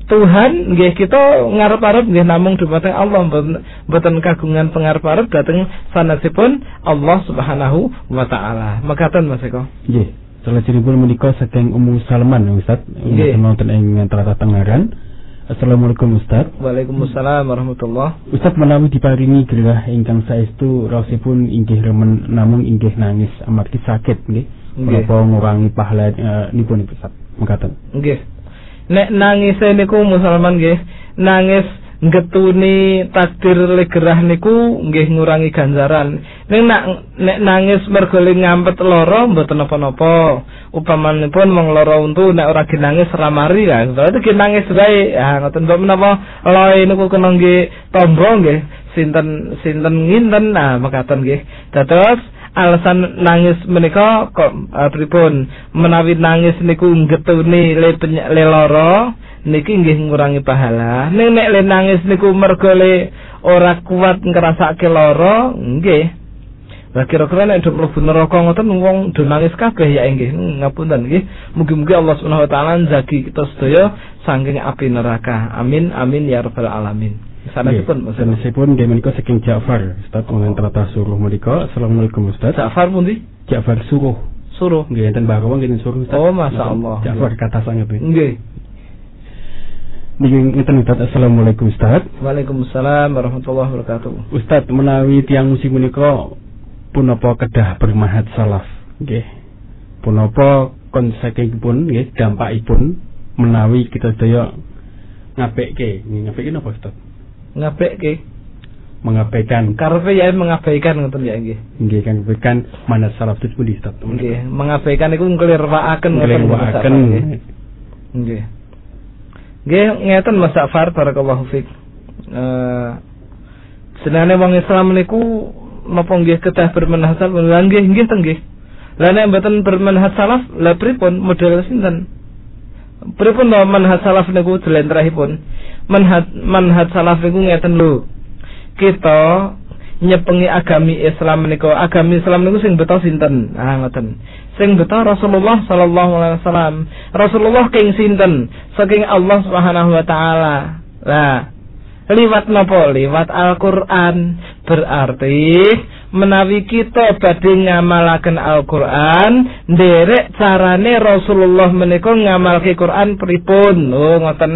Tuhan nggih, kita ngarep-arep nggih namung dumateng Allah, mboten kagungan pangarep-arep dhateng sanasipun Allah Subhanahu wa taala. Mekaten Mas Eko. Nggih. Salajengipun menika saking Ummu Salman Ustaz, wonten ing Tlatah Tengaran. Assalamualaikum Ustaz. Waalaikumsalam warahmatullah. Ustaz menawi diparingi gerah ingkang saestu raosipun inggih remen namung inggih nangis amargi sakit nggih. Menapa ngurangi pahala uh, nipun Ustaz. Mekaten. Nggih. Nek nangis niku Musalman nggih, nangis ngetuni takdir le gerah niku nggih ngurangi ganjaran. Ning nak nek nangis mergo le ngampet lara mboten napa-napa. Upamanipun mong lara untu nek ora ginangis ramari ya. Berarti ginangis wae. Ya ngoten kok menapa lae niku kena nggih tombo nggih. Sinten sinten nginten nah mekaten nggih. Dados alasan nangis menika kok uh, pripun menawi nangis niku getuni le le lara niki nggih ngurangi pahala. Ning nek le nangis niku mergo le ora kuat ngrasake lara nggih. Lah kira-kira nek do mlebu neraka ngoten wong do nangis kabeh ya nggih. Ngapunten nggih. Mugi-mugi Allah Subhanahu wa taala njagi kita sedaya saking api neraka. Amin amin ya rabbal alamin. Sanasipun sanasipun nggih menika saking Ja'far Ustaz wonten Tlatah Suruh menika. Assalamualaikum Ustaz. Ja'far pundi? Ja'far Suruh. Suruh nggih enten Bakawa nggih Suruh Ustaz. Oh masyaallah. Ja'far kata sanget nggih. Nggih. Nggih ngeten Ustaz. Assalamualaikum Ustaz. Waalaikumsalam warahmatullahi wabarakatuh. Ustaz menawi tiyang musik menika punapa kedah bermanhaj salaf nggih. Punapa konsekuensipun nggih dampakipun menawi kita sedaya ngapekke. Ngapekke napa Ustaz? Ngapekke mengabaikan karepe ya mengabaikan ngoten ya nggih. Nggih kang bekan manhaj salaf itu pundi Ustaz? Nggih, mengabaikan iku nglirwakaken ngoten nglirwakaken. Nggih. Nggih ngeten Mas Ja'far barakallahu fik. Eh senane wong Islam niku napa nggih kedah bermanhaj salaf? Nggih, nggih teng nggih. Lah nek mboten bermanhaj salaf, lha pripun model sinten? Pripun to manhaj salaf niku jlentrehipun? Manhaj manhaj salaf niku ngeten lho. Kita nyepengi agami Islam menika, agami Islam niku sing beto sinten? Ah ngoten. Sing beto Rasulullah sallallahu alaihi wasallam. Rasulullah king sinten? Saking Allah Subhanahu wa taala. Lah, liwat napa? Liwat Al-Qur'an. Berarti menawi kita badhe ngamalaken Al-Qur'an, nderek carane Rasulullah menika ngamalke Qur'an pripun? Lho ngoten.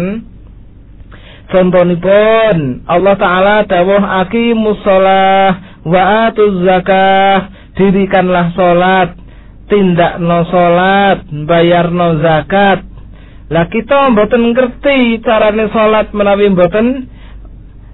Contonipun Allah Ta'ala dawuh aqimus shalah wa atuz zakah, dirikanlah salat, tindakno salat, bayarno zakat. Lah kita mboten ngerti carane salat menawi mboten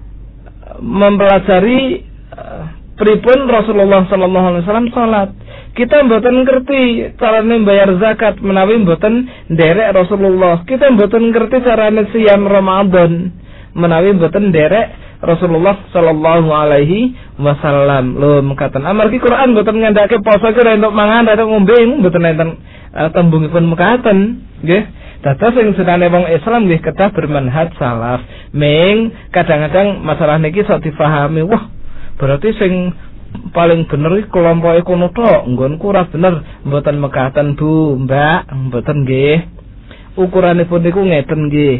mempelajari uh, pripun Rasulullah sallallahu alaihi wasallam salat. Kita mboten ngerti carane bayar zakat menawi mboten nderek Rasulullah. Kita mboten ngerti carane siam Ramadan menawi mboten nderek Rasulullah sallallahu alaihi wasallam. Lho mekaten amargi Quran mboten ngandhake poso ki untuk mangan atau ngombe mboten enten uh, tembungipun mekaten nggih. Dados sing senane wong Islam nggih kedah bermanhaj salaf. Ming kadang-kadang masalah niki sok difahami, wah berarti sing paling bener iki kelompoke kono tok, nggonku ora bener, mboten mekaten Bu, Mbak, mboten nggih. Ukuranipun niku ngeten nggih.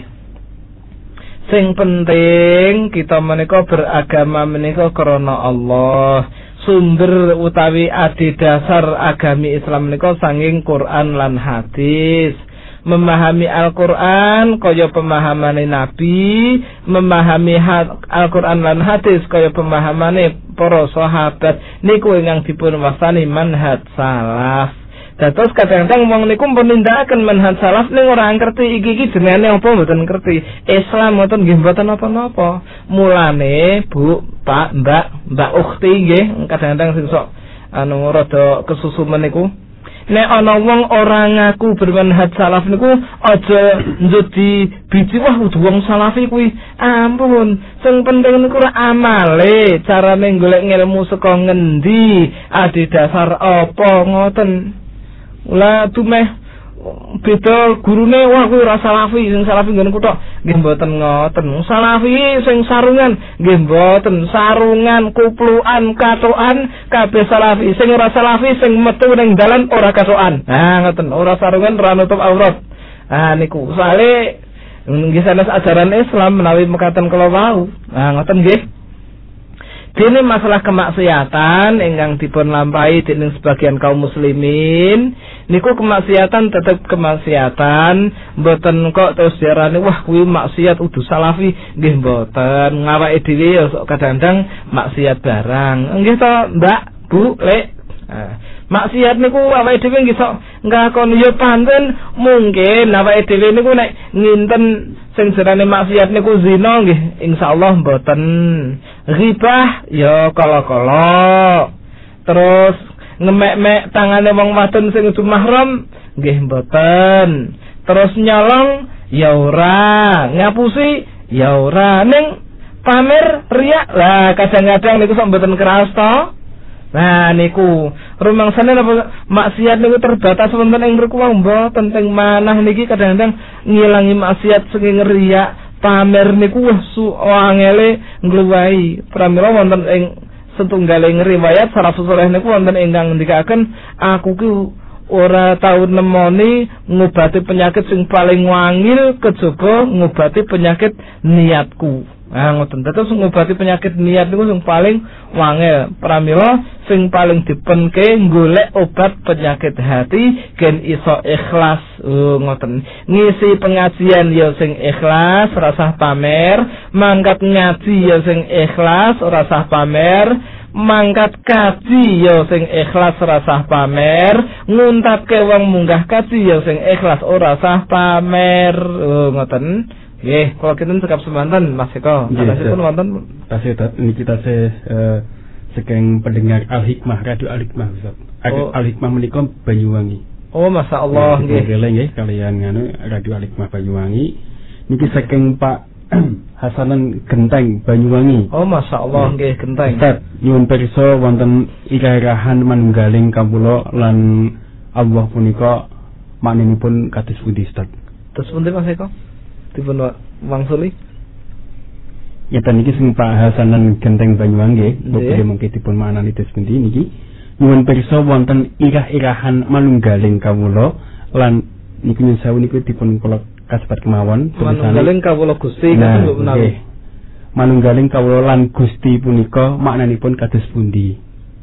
Sing penting kita menika beragama menika krana Allah. Sumber utawi adhedhasar agami Islam menika sanging Quran lan hadis. Memahami Al-Quran kaya pemahamane Nabi, memahami Al-Quran lan hadis kaya pemahamane para sahabat, niku ingkang dipun wastani manhaj salaf. Dados kadang-kadang wong niku penindakaken manhaj salaf ning ora ngerti iki iki jenenge apa mboten ngerti. Islam mboten nggih mboten napa-napa. Mulane Bu, Pak, Mbak, Mbak ukhti nggih kadang-kadang sing sok anu rada kesusu meniku. Nek ana wong ora ngaku bermanhaj salaf niku aja njudi biji wah wong salafi kuwi. Ampun, sing penting niku ora amale, carane golek ilmu saka ngendi, adhedhasar apa ngoten. Ula tumeh beda gurune wah kuwi ora salafi, sing salafi nggon kutok nggih mboten ngoten. Salafi sing sarungan nggih mboten, sarungan, kuplukan, katokan kabeh salafi. Sing ora salafi sing metu ning dalan ora katokan. Nah ngoten, ora sarungan, ora nutup aurat. Ah niku soalé nggih sanes ajaran Islam menawi mekaten kala wau. Nah ngoten nggih. Dene masalah kemaksiatan ingkang dipun lampahi dening sebagian kaum muslimin niku kemaksiatan tetep kemaksiatan, mboten kok terus diarani wah kuwi maksiat udu salafi, nggih mboten. Ngawake dhewe ya kadang-kadang maksiat barang. Nggih to, Mbak, Bu, Lek. Nah, maksiat niku awake dhewe nggih sok ngakoni ya pancen mungkin awake dhewe niku nek nginten sing jenenge maksiat niku zina nggih insyaallah mboten. Ghibah ya kala-kala. Terus ngemek-mek tangane wong wadon sing udu mahram nggih mboten. Terus nyolong ya ora, ngapusi ya ora, ning pamer riak lah kadang-kadang niku sok mboten keras to. Nah niku rumangsane napa maksiat niku terbatas wonten ing mriku mboten teng manah niki kadang-kadang ngilangi maksiat saking riak. Pamer niku wah su angele ngluwahi. Pramila wonten ing setunggaling riwayat salafus saleh niku wonten ingkang ngendikaken aku ki ora tau nemoni ngobati penyakit sing paling wangil kejaba ngobati penyakit niatku. Ah ngoten. Dados ngobati penyakit niat niku sing paling wangil. Pramila sing paling dipenke golek obat penyakit hati gen iso ikhlas. Oh ngoten. Ngisi pengajian ya sing ikhlas, ora pamer, mangkat ngaji ya sing ikhlas, ora pamer, mangkat kaji ya sing ikhlas ora sah pamer, nguntapke wong munggah kaji ya sing ikhlas ora sah pamer. Oh ngoten. Nggih, kula kinten cekap semanten Mas Eko. Sanesipun wonten tasih niki tasih uh, saking pendengar Al-Hikmah, Radio Al-Hikmah Ustaz. Oh. Al-Hikmah menika Banyuwangi. Oh, masyaallah nggih. Nggih nggih kalian nganu Radio Al-Hikmah Banyuwangi. Niki saking Pak Hasanan Genteng Banyuwangi. Oh, masyaallah nggih Genteng. Ustaz, nyuwun pirsa wonten irahan manunggaling kawula lan Allah punika makninipun kados pundi Ustaz? Terus pundi Mas Eko? Dipun wangsuli. Ya niki sing Pak Hasanan Genteng Banyuwangi, nggih mungkin dipun manani terus pundi niki. Nyuwun pirsa wonten irah-irahan manunggaling kawula lan niku nyuwun sewu niku dipun kula kasebat kemawon manunggaling kawula Gusti kados menawi. Manunggaling kawula lan Gusti punika maknanipun kados pundi?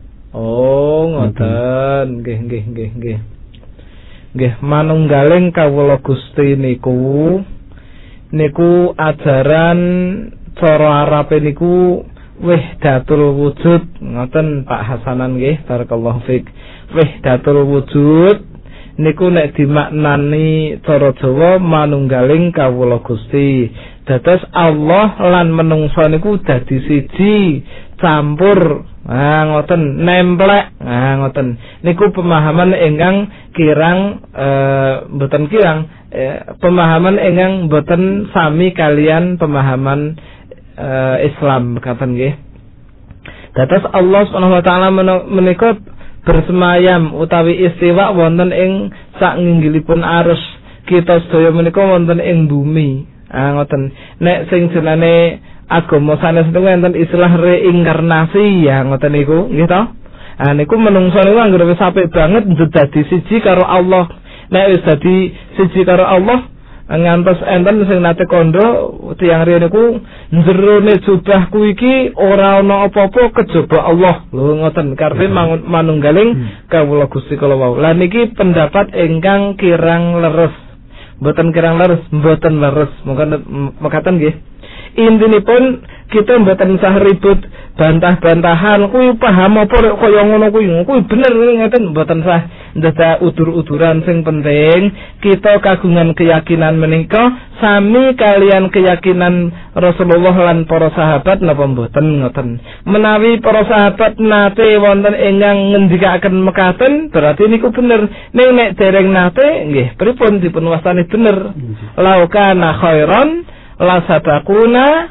Oh, ngoten. Nggih nggih nggih nggih. Nggih, manunggaling kawula Gusti niku niku ajaran cara Arabe niku wahdatul wujud. Ngoten Pak Hasanan nggih, barakallahu fik. Wahdatul wujud niku nek dimaknani cara Jawa manunggaling kawula Gusti. Dados Allah lan menungso niku dadi siji, campur, ah ngoten, nemplek, ah ngoten. Niku pemahaman ingkang kirang eh, mboten kirang eh, pemahaman ingkang mboten sami kalian pemahaman eh, Islam katen nggih. Dados Allah Subhanahu wa taala menika bersemayam utawi istiwa wonten ing sakinggilipun arus. Kita sedaya menika wonten ing bumi. Ah ngoten. Nek sing jenenge agama sanes niku enten istilah reinkarnasi ya ngoten niku, nggih to? Ah niku menungso niku anggere wis apik banget dadi siji karo Allah. Nek wis dadi siji karo Allah, ngantos enten sing nate kandha tiyang riyen niku jerone jubahku iki ora ana apa-apa kejaba Allah. Lho ngoten karpe manunggaling kawula Gusti kala wau. Lah niki pendapat ingkang kirang leres. Mboten kirang leres, mboten leres. Monggo mekaten nggih. Intinipun kita mboten usah ribut bantah-bantahan kuwi paham apa kaya ngono kuwi. Kuwi bener ngeten mboten usah ndadak udur-uduran. Sing penting kita kagungan keyakinan menika sami kalian keyakinan Rasulullah lan para sahabat napa mboten ngoten. Menawi para sahabat nate wonten ingkang ngendikaken mekaten berarti niku bener. Ning nek dereng nate nggih pripun dipun wastani bener. Laukana khairan la sadaquna,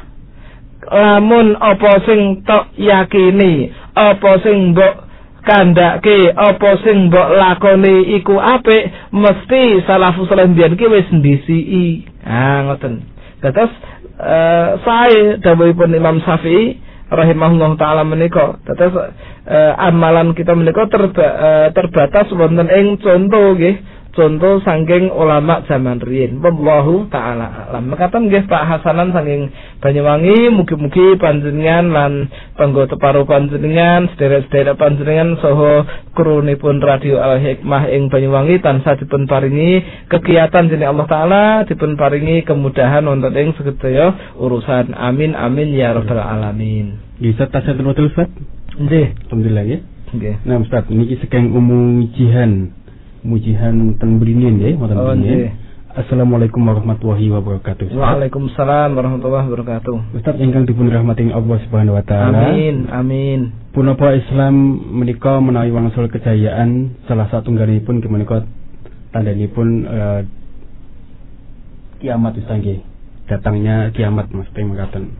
lamun apa sing tok yakini, apa sing mbok kandhake, apa sing mbok lakoni iku apik, mesti salafus saleh mbiyen ki wis ndisiki. Ah ngoten. Dados uh, sae dawuhipun Imam Syafi'i rahimahullah taala menika. Dados uh, amalan kita menika terba, uh, terbatas wonten ing contoh nggih. Contoh saking ulama zaman riyin. Wallahu taala alam. Mekaten nggih Pak Hasanan saking Banyuwangi, mugi-mugi panjenengan lan panggota paru panjenengan, sedherek-sedherek panjenengan saha krunipun Radio Al Hikmah ing Banyuwangi tansah dipun paringi kegiatan dening Allah taala, dipun paringi kemudahan wonten ing sedaya urusan. Amin amin ya rabbal alamin. Nggih, Ustaz tasih nutul Ustaz. Nggih, alhamdulillah ya. Nggih. Nah, Ustaz niki saking umum jihan mujihan teng Beringin nggih, wonten Beringin. Assalamualaikum warahmatullahi wabarakatuh. Waalaikumsalam warahmatullahi wabarakatuh. Ustaz ingkang dipun rahmati Allah Subhanahu wa taala. Amin, amin. Punapa Islam menika menawi wangsul kejayaan salah satunggalipun menika tandhanipun uh, kiamat Ustaz nggih. Datangnya kiamat mesti mekaten.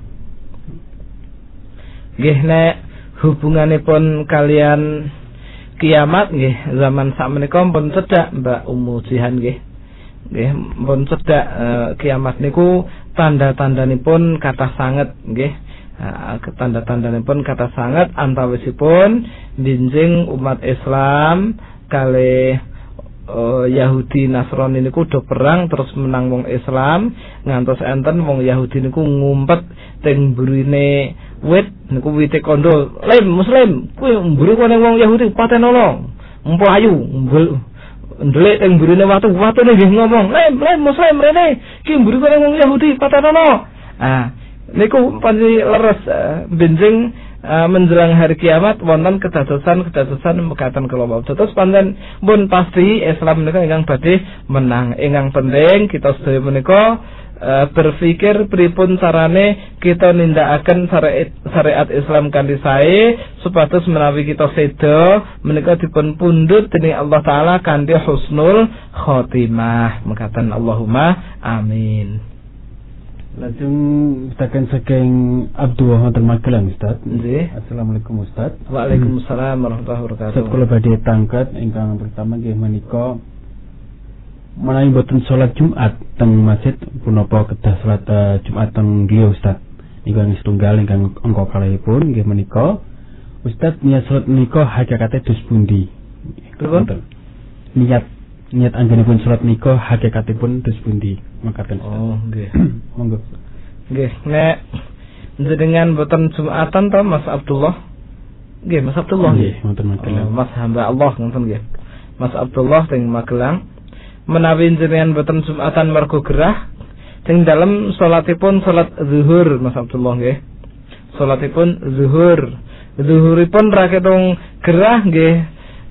Nggih nek hubunganipun kalian kiamat nggih zaman sakmenika pun cedhak Mbak Ummu Jihan nggih. Nggih pun cedhak e, kiamat niku tanda-tandanipun kathah sanget nggih. E, tanda-tandanipun kathah sanget antawisipun binjing umat Islam kalih e, Yahudi Nasrani niku do perang terus menang wong Islam ngantos enten wong Yahudi niku ngumpet teng burine wit niku wite kondo lem muslim kuwi mburi kene wong Yahudi patenono empo ayu ndelik teng mburine watu watune nggih ngomong lem lem muslim rene ki mburi kene wong Yahudi patenono. Ah niku panci leres uh, benjing uh, menjelang hari kiamat wonten kedadosan-kedadosan mekaten kula wau. Terus pancen pun pasti Islam menika ingkang badhe menang. Ingkang penting kita sedaya menika Uh, berpikir pripun carane kita nindakaken syariat syariat Islam kanthi sae supados menawi kita seda menika dipun pundhut dening Allah taala kanthi husnul khotimah. Mekaten Allahumma amin. Lajeng tekan saking Abdullah wonten Magelang Ustaz. Nggih. Assalamualaikum Ustaz. Waalaikumsalam warahmatullahi wabarakatuh. Ustaz kula badhe tangkat ingkang pertama nggih menika menawi boten salat Jumat teng masjid punapa kedah salat uh, Jumat teng griya Ustaz. Ingkang setunggal ingkang angka kalihipun nggih menika Ustaz niat salat menika hakikate dos pundi? Niat niat anggenipun salat menika hakikatipun dos pundi? Makaten Ustaz. Oh, nggih. Monggo. Nggih, nek jenengan boten Jumatan to Mas Abdullah? Nggih, Mas Abdullah nggih. Wonten Magelang. Oh, Mas hamba Allah ngoten nggih. Mas Abdullah teng Magelang. Menawi jenengan boten Jumatan mergo gerah teng dalem salatipun salat zuhur Mas Abdullah nggih. Salatipun zuhur. Zuhuripun ra ketung gerah nggih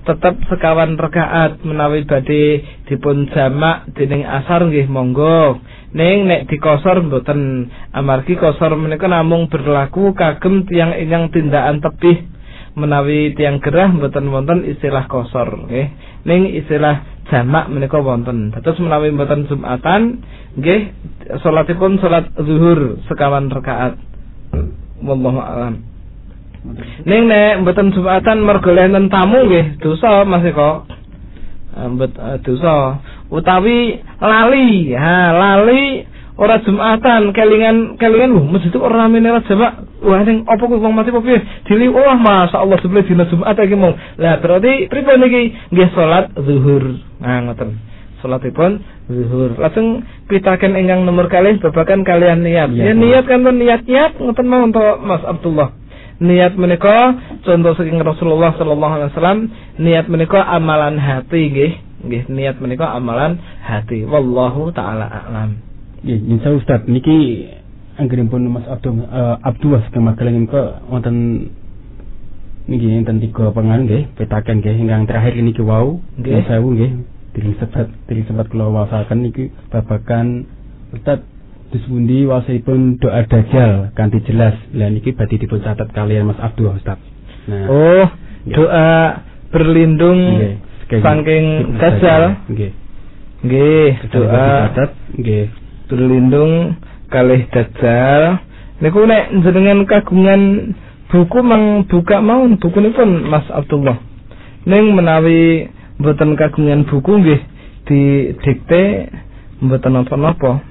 tetep sekawan rakaat menawi badhe dipun jamak dening asar nggih monggo. Ning nek dikosor mboten, amargi kosor menika namung berlaku kagem tiyang ingkang tindakan tebih. Menawi tiyang gerah mboten wonten istilah kosor nggih. Ning istilah jamak menika wonten. Dados menawi mboten Jumatan nggih salatipun salat zuhur sekawan rakaat. Wallahu a'lam. Ning nek mboten Jumatan mergo enten tamu nggih dosa Mas Eko. Mbet dosa utawi lali. Ha, lali ora Jumatan, kelingan kelingan lho masjid ora ramene ora jamak. Wah ning apa kuwi wong mati apa piye? Dili oh masyaallah sebelum dina Jumat iki mau. Lah berarti pripun iki? Nggih salat zuhur. Nah ngoten. Salatipun zuhur. Langsung pitaken ingkang nomor kalih babagan kalian niat. Ya, ya niat kan niat-niat ngoten mau untuk Mas Abdullah. Niat menika contoh saking Rasulullah sallallahu alaihi wasallam, niat menika amalan hati nggih. Nggih niat menika amalan hati. Wallahu taala a'lam. Nggih, insyaallah Ustaz niki anggenipun Mas Abdul uh, Abdullah kemakaleng menika wonten niki enten tiga pengan nggih, petaken nggih ingkang terakhir niki wau nggih sewu nggih. Diri sempat diri sempat kula waosaken niki babagan Ustaz dus pundi waosipun doa dajjal kanthi jelas. Lah niki badhe dipun catet kalian Mas Abdullah Ustaz. Nah, oh, nggih. Doa berlindung nggih saking dajjal nggih. Nggih, doa catet nggih berlindung kalih dajjal. Niku nek jenengan kagungan buku mang buka mawon bukunipun Mas Abdullah. Ning menawi mboten kagungan buku nggih didikte mboten napa-napa.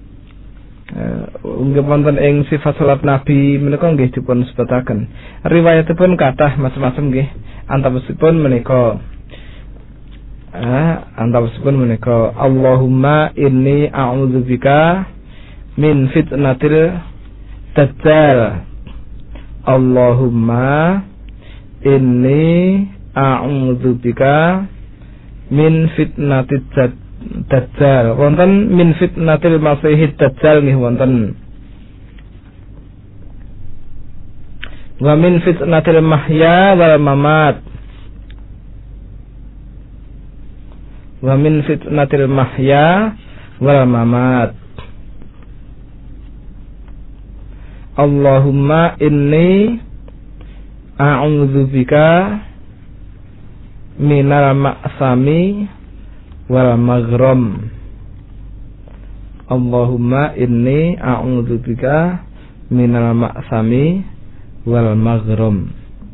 Nggih wonten ing sifat salat Nabi menika nggih dipun sebutaken. Riwayatipun kathah macam-macam nggih. Antawisipun menika ah antawisipun menika Allahumma inni a'udzubika min fitnatil dajjal. Allahumma inni a'udzubika min fitnatil dajjal. Wonten min fitnatil masihid dajjal nggih wonten. Wa min fitnatil mahya wal mamat. Wa min fitnatil mahya wal mamat. Allahumma inni a'udzubika minal ma'sami wal maghram. Allahumma inni a'udzubika minal ma'sami wal maghram.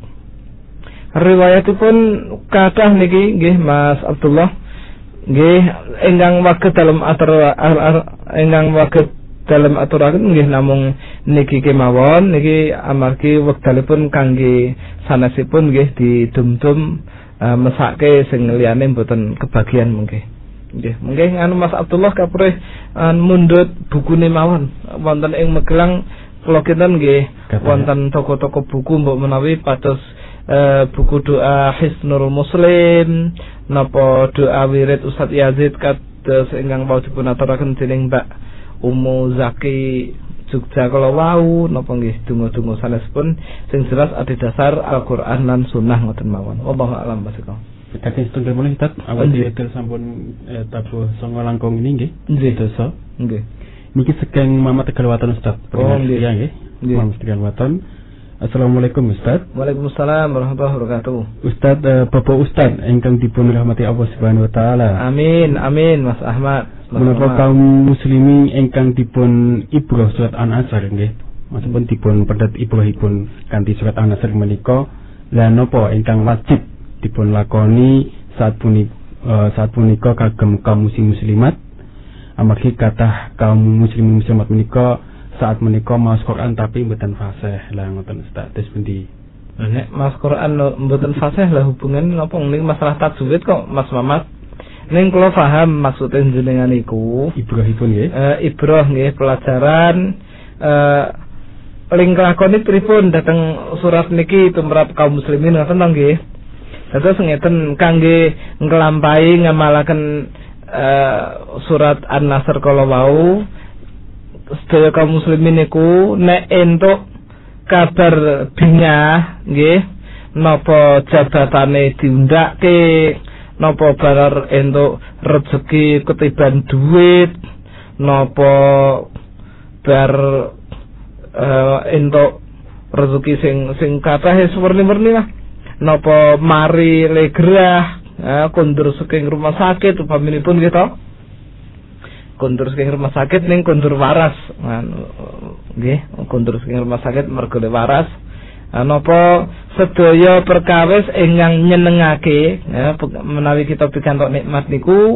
Riwayatipun kathah niki nggih Mas Abdullah nggih ingkang waget dalam atur ingkang waget dalam aturaken nggih namung niki kemawon niki amargi wekdalipun kangge sanesipun nggih didum-dum uh, mesake sing liyane mboten kebagian mungkin. Nggih, mungkin anu Mas Abdullah kaprih uh, mundhut bukune mawon wonten ing Magelang kula kinten nggih wonten toko-toko buku mbok menawi pados uh, buku doa Hisnul Muslim napa doa wirid Ustaz Yazid kados ingkang wau dipun aturaken dening Mbak Umu Zaki Jogja kala wau napa nggih donga-donga sanesipun sing jelas adhedhasar Al-Qur'an lan Sunnah ngoten mawon. Wallahu a'lam bishawab. Kita setunggal mulai Ustaz, awal dhewe sampun eh, tabuh songo langkung ini nggih. Nggih dosa. Nggih. Niki sekeng Mama Tegal Waton Ustaz. Oh nggih. Nggih. Mama Tegal Waton. Assalamualaikum Ustaz. Waalaikumsalam warahmatullahi wabarakatuh. Ustaz uh, Bapak Ustaz ingkang dipun rahmati Allah Subhanahu wa taala. Amin amin Mas Ahmad. Menapa kaum muslimin ingkang dipun ibroh surat An-Nasr nggih. Maksudipun dipun pendet ibrohipun kanthi surat An-Nasr menika la napa ingkang wajib dipun lakoni saat punika uh, saat punika kagem kaum muslim muslimat. Amargi kathah kaum muslimin muslimat menika saat menika maos Quran tapi mboten fasih. Lah ngoten Ustaz, terus pundi? Nek maos Quran mboten fasih lah hubungan napa ning masalah tajwid kok Mas Mamat. Ning kula paham maksud jenengan iku ibrahipun nggih. Eh ibrah nggih pelajaran eh ling lakoni pripun dhateng surat niki tumrap kaum muslimin ngoten to nggih. Dados ngeten kangge nglampahi ngamalaken eh surat An-Nasr kala wau sedaya kaum muslimin niku nek entuk kabar bingah nggih napa jabatane diundake, napa bar entuk rezeki ketiban duit, napa bar uh, entuk rezeki sing sing kathah werni-werni lah, napa mari legrah uh, kondur saking rumah sakit upaminipun gitu, kondur saking rumah sakit ning kondur waras, nggih, kondur saking rumah sakit mergo waras. Napa sedaya perkawis ingkang nyenengake ya, menawi kita pikantuk nikmat niku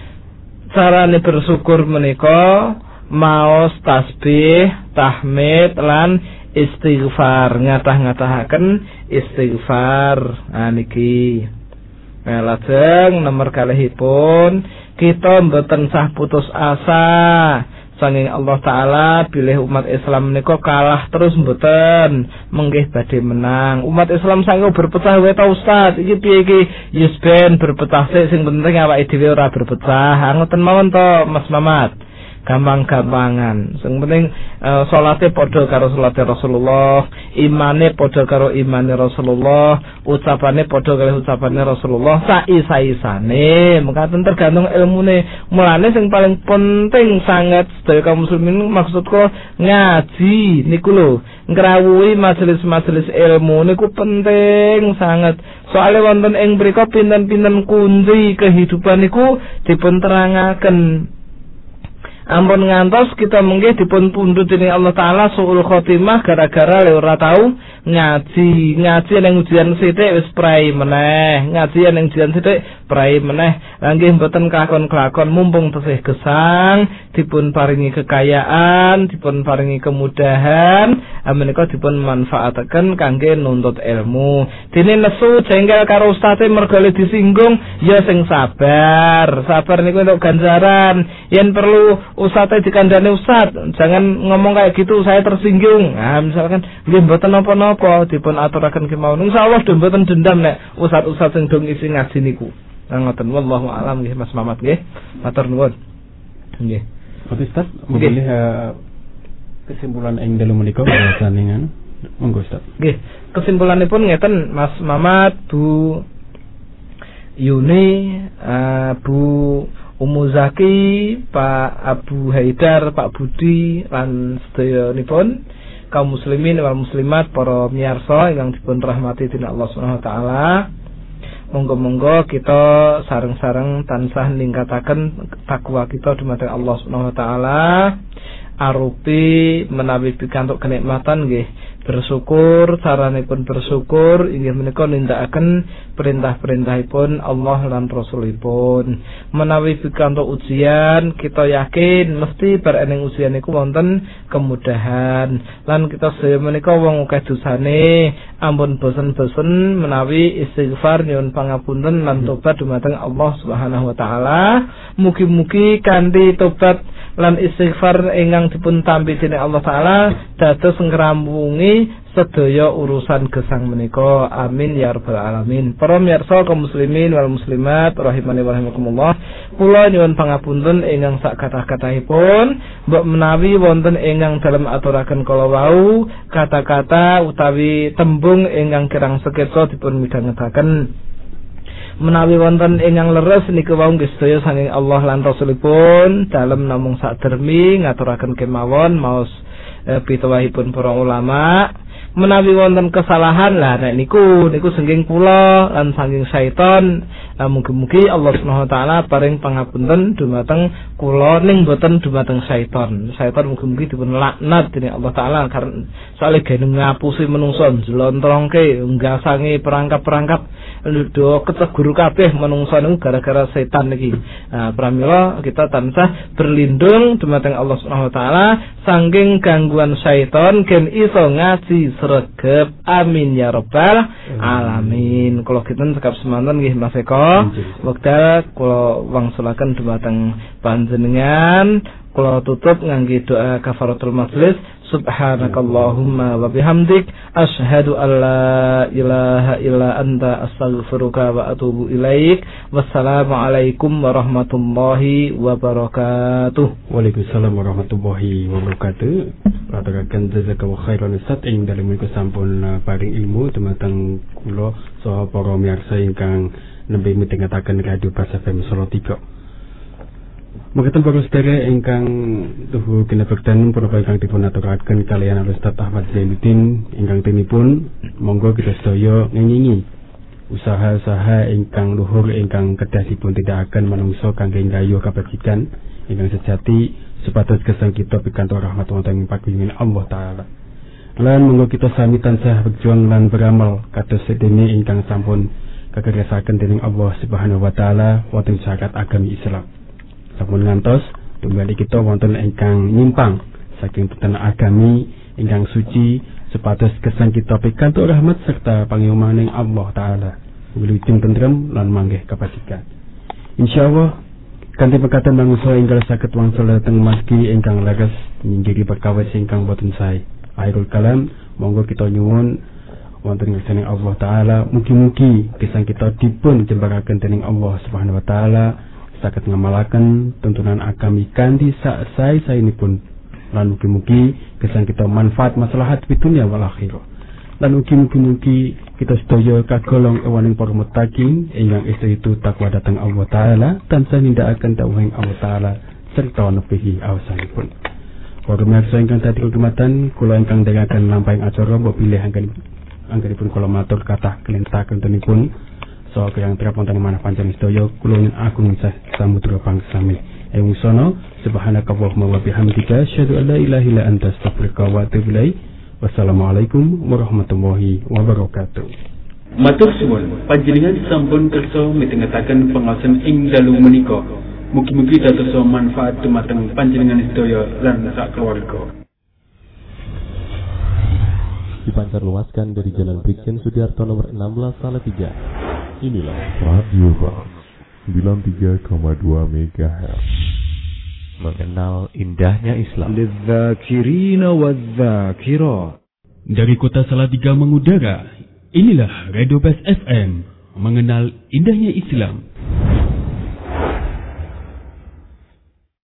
carane bersyukur menika maos tasbih, tahmid lan istighfar, ngatah-ngatahaken istighfar. Nah niki nah, lajeng nomor kalihipun kita mboten sah putus asa sanging Allah Ta'ala bilih umat Islam menika kalah terus mboten menggih badhe menang. Umat Islam sangko berpecah wae ta Ustaz. Iki piye iki? Yes ben berpecah sik sing penting awake dhewe ora berpecah. Ngoten mawon to Mas Mamat. Gampang-gampangan. Sing penting uh, salate padha karo salate Rasulullah, imane padha karo imane Rasulullah, ucapane padha karo ucapane Rasulullah, sai-saisane. Mekaten tergantung ilmune. Mulane sing paling penting sangat sedaya kaum muslimin maksudku ngaji niku lho, ngrawuhi majelis-majelis ilmu niku penting sangat. Soale wonten ing mriku pinten-pinten kunci kehidupan niku dipun terangaken. Ampun ngantos kita mungkin dipun pundhut dening Allah Ta'ala suul khotimah gara-gara le ora tau ngaji. Ngaji ning ujian sithik wis prai meneh, ngaji ning ujian sithik prai meneh. Lah nggih mboten kelakon-kelakon mumpung tesih gesang dipun paringi kekayaan, dipun paringi kemudahan, menika dipun manfaataken kangge nuntut ilmu. Dene nesu jengkel karo ustaze mergo disinggung, ya sing sabar. Sabar niku entuk ganjaran. Yen perlu ustadz dikandani ustadz, jangan ngomong kayak gitu saya tersinggung. Nah misalkan nggih mboten napa-napa dipun aturaken kemawon. Insyaallah do mboten dendam nek ustadz-ustadz sing dong isi ngaji niku. Nah ngoten wallahu alam nggih Mas Mamat nggih. Matur nuwun. Nggih. Pak Ustaz, mungkin uh, kesimpulan ing dalu menika bahasaningan. Monggo Ustaz. Nggih, kesimpulanipun ngeten Mas Mamat, Bu Yuni, uh, Bu Umu Zaki, Pak Abu Haidar, Pak Budi lan sedayanipun kaum muslimin wal muslimat para miyarsa ingkang dipun rahmati dening Allah Subhanahu wa taala. Monggo-monggo kita sareng-sareng tansah ningkataken takwa kita dumateng Allah Subhanahu wa taala arupi menawi pikantuk kenikmatan nggih bersyukur, caranipun bersyukur inggih menika nindakaken perintah-perintahipun Allah lan Rasulipun. Menawi pikantuk ujian, kita yakin mesti bar eneng ujian niku wonten kemudahan. Lan kita sedaya menika wong akeh dosane, ampun bosen-bosen menawi istighfar nyuwun pangapunten lan tobat dumateng Allah Subhanahu wa taala. Mugi-mugi kanthi tobat lan istighfar ingkang dipun tampi dening Allah taala dados ngrampungi sedaya urusan gesang menika. Amin ya rabbal alamin. Para miyarsa kaum muslimin wal muslimat rahimani wa rahimakumullah, kula nyuwun pangapunten ingkang sak kathah-kathahipun mbok menawi wonten ingkang dalem aturaken kala wau kata-kata utawi tembung ingkang kirang seketsa dipun midhangetaken. Menawi wonten ingkang leres niku wau nggih sedaya saking Allah lan Rasulipun dalem namung sadermi ngaturaken kemawon maos e, pituwahipun para ulama. Menawi wonten kesalahan lah nek niku niku saking kula lan saking syaiton, mugi-mugi Allah Subhanahu wa taala paring pangapunten dumateng kula ning boten dumateng syaiton. Syaiton mugi-mugi dipun laknat dening Allah taala karena soalé gene ngapusi menungso njlontrongke nggasangi perangkap-perangkap lho kecegur kabeh menungso niku gara-gara setan niki. Nah, pramila kita tansah berlindung dumateng Allah Subhanahu wa taala saking gangguan syaiton gen iso ngaji sregep. Amin ya rabbal alamin. Kula kinten sekap semanten nggih Mas Eko. Wekdal kula wangsulaken dumateng panjenengan kula tutup ngangge doa kafaratul majlis. Subhanakallahumma wa bihamdik asyhadu an la ilaha illa anta astaghfiruka wa atubu ilaik. Wassalamualaikum warahmatullahi wabarakatuh. Waalaikumsalam warahmatullahi wabarakatuh. Aturaken jazakallahu khairan Ustaz ing dalem menika sampun paring ilmu dumateng kula saha para miyarsa ingkang nembe mitengetaken Radio Pas F M Solo tiga. Mekaten para sedherek ingkang tuhu kinabektan punapa ingkang dipun aturaken kaliyan Ustaz Ahmad Zainuddin ingkang tinipun monggo kita sedaya ngengingi usaha-usaha ingkang luhur ingkang kedah dipun tindakaken manungsa kangge nggayuh kabajikan ingkang sejati supados gesang kita pikantuk rahmat wonten ing paguyuning Allah taala. Lan monggo kita sami tansah berjuang lan beramal kados sedene ingkang sampun kagersaken dening Allah Subhanahu wa taala wonten syariat agami Islam. Sampun ngantos tumbali kita wonten ingkang nyimpang saking teten agami ingkang suci supados gesang kita pikantuk rahmat serta pangiumaning Allah taala wilujeng tentrem lan manggih kabajikan. Insyaallah kanthi pekaten manungsa ingkang saged wangsul dhateng masjid ingkang leres nyinggiri perkawis ingkang boten sae. Akhirul kalam monggo kita nyuwun wonten ngersane Allah taala mugi-mugi gesang kita dipun jembaraken dening Allah Subhanahu wa taala saged ngamalaken tuntunan agami kanthi sak sae-saenipun lan mugi-mugi gesang kita manfaat maslahat di dunia wal akhirah lan mugi-mugi kita sedaya kagolong ewaning para muttaqin ingkang itu takwa dhateng Allah taala tansah nindakaken dawuhing Allah taala serta nepihi awasanipun. Para pamirsa ingkang dadi kagematen kula ingkang dherekaken lampahing acara mbok bilih anggenipun kula matur kathah kelentaken tenipun so kang terap wonten manah panjenengan sedaya kula agung sah samudra pangsami ing sono subhanakallahumma wa bihamdika asyhadu an la ilaha illa anta astaghfiruka wa atubu ilaik. Wassalamualaikum warahmatullahi wabarakatuh. Matur suwun panjenengan sampun kersa mitengetaken pangaosan ing dalu menika. Mugi-mugi dados manfaat dumateng panjenengan sedaya lan sak keluarga. Dipancar luaskan dari Jalan Brigjen Sudiarto nomor enam belas Salatiga. Inilah Radio Bang sembilan puluh tiga koma dua megahertz. Mengenal indahnya Islam. Lidzakirina wadzakirat. Dari kota Salatiga mengudara, inilah Radio Best F M. Mengenal indahnya Islam.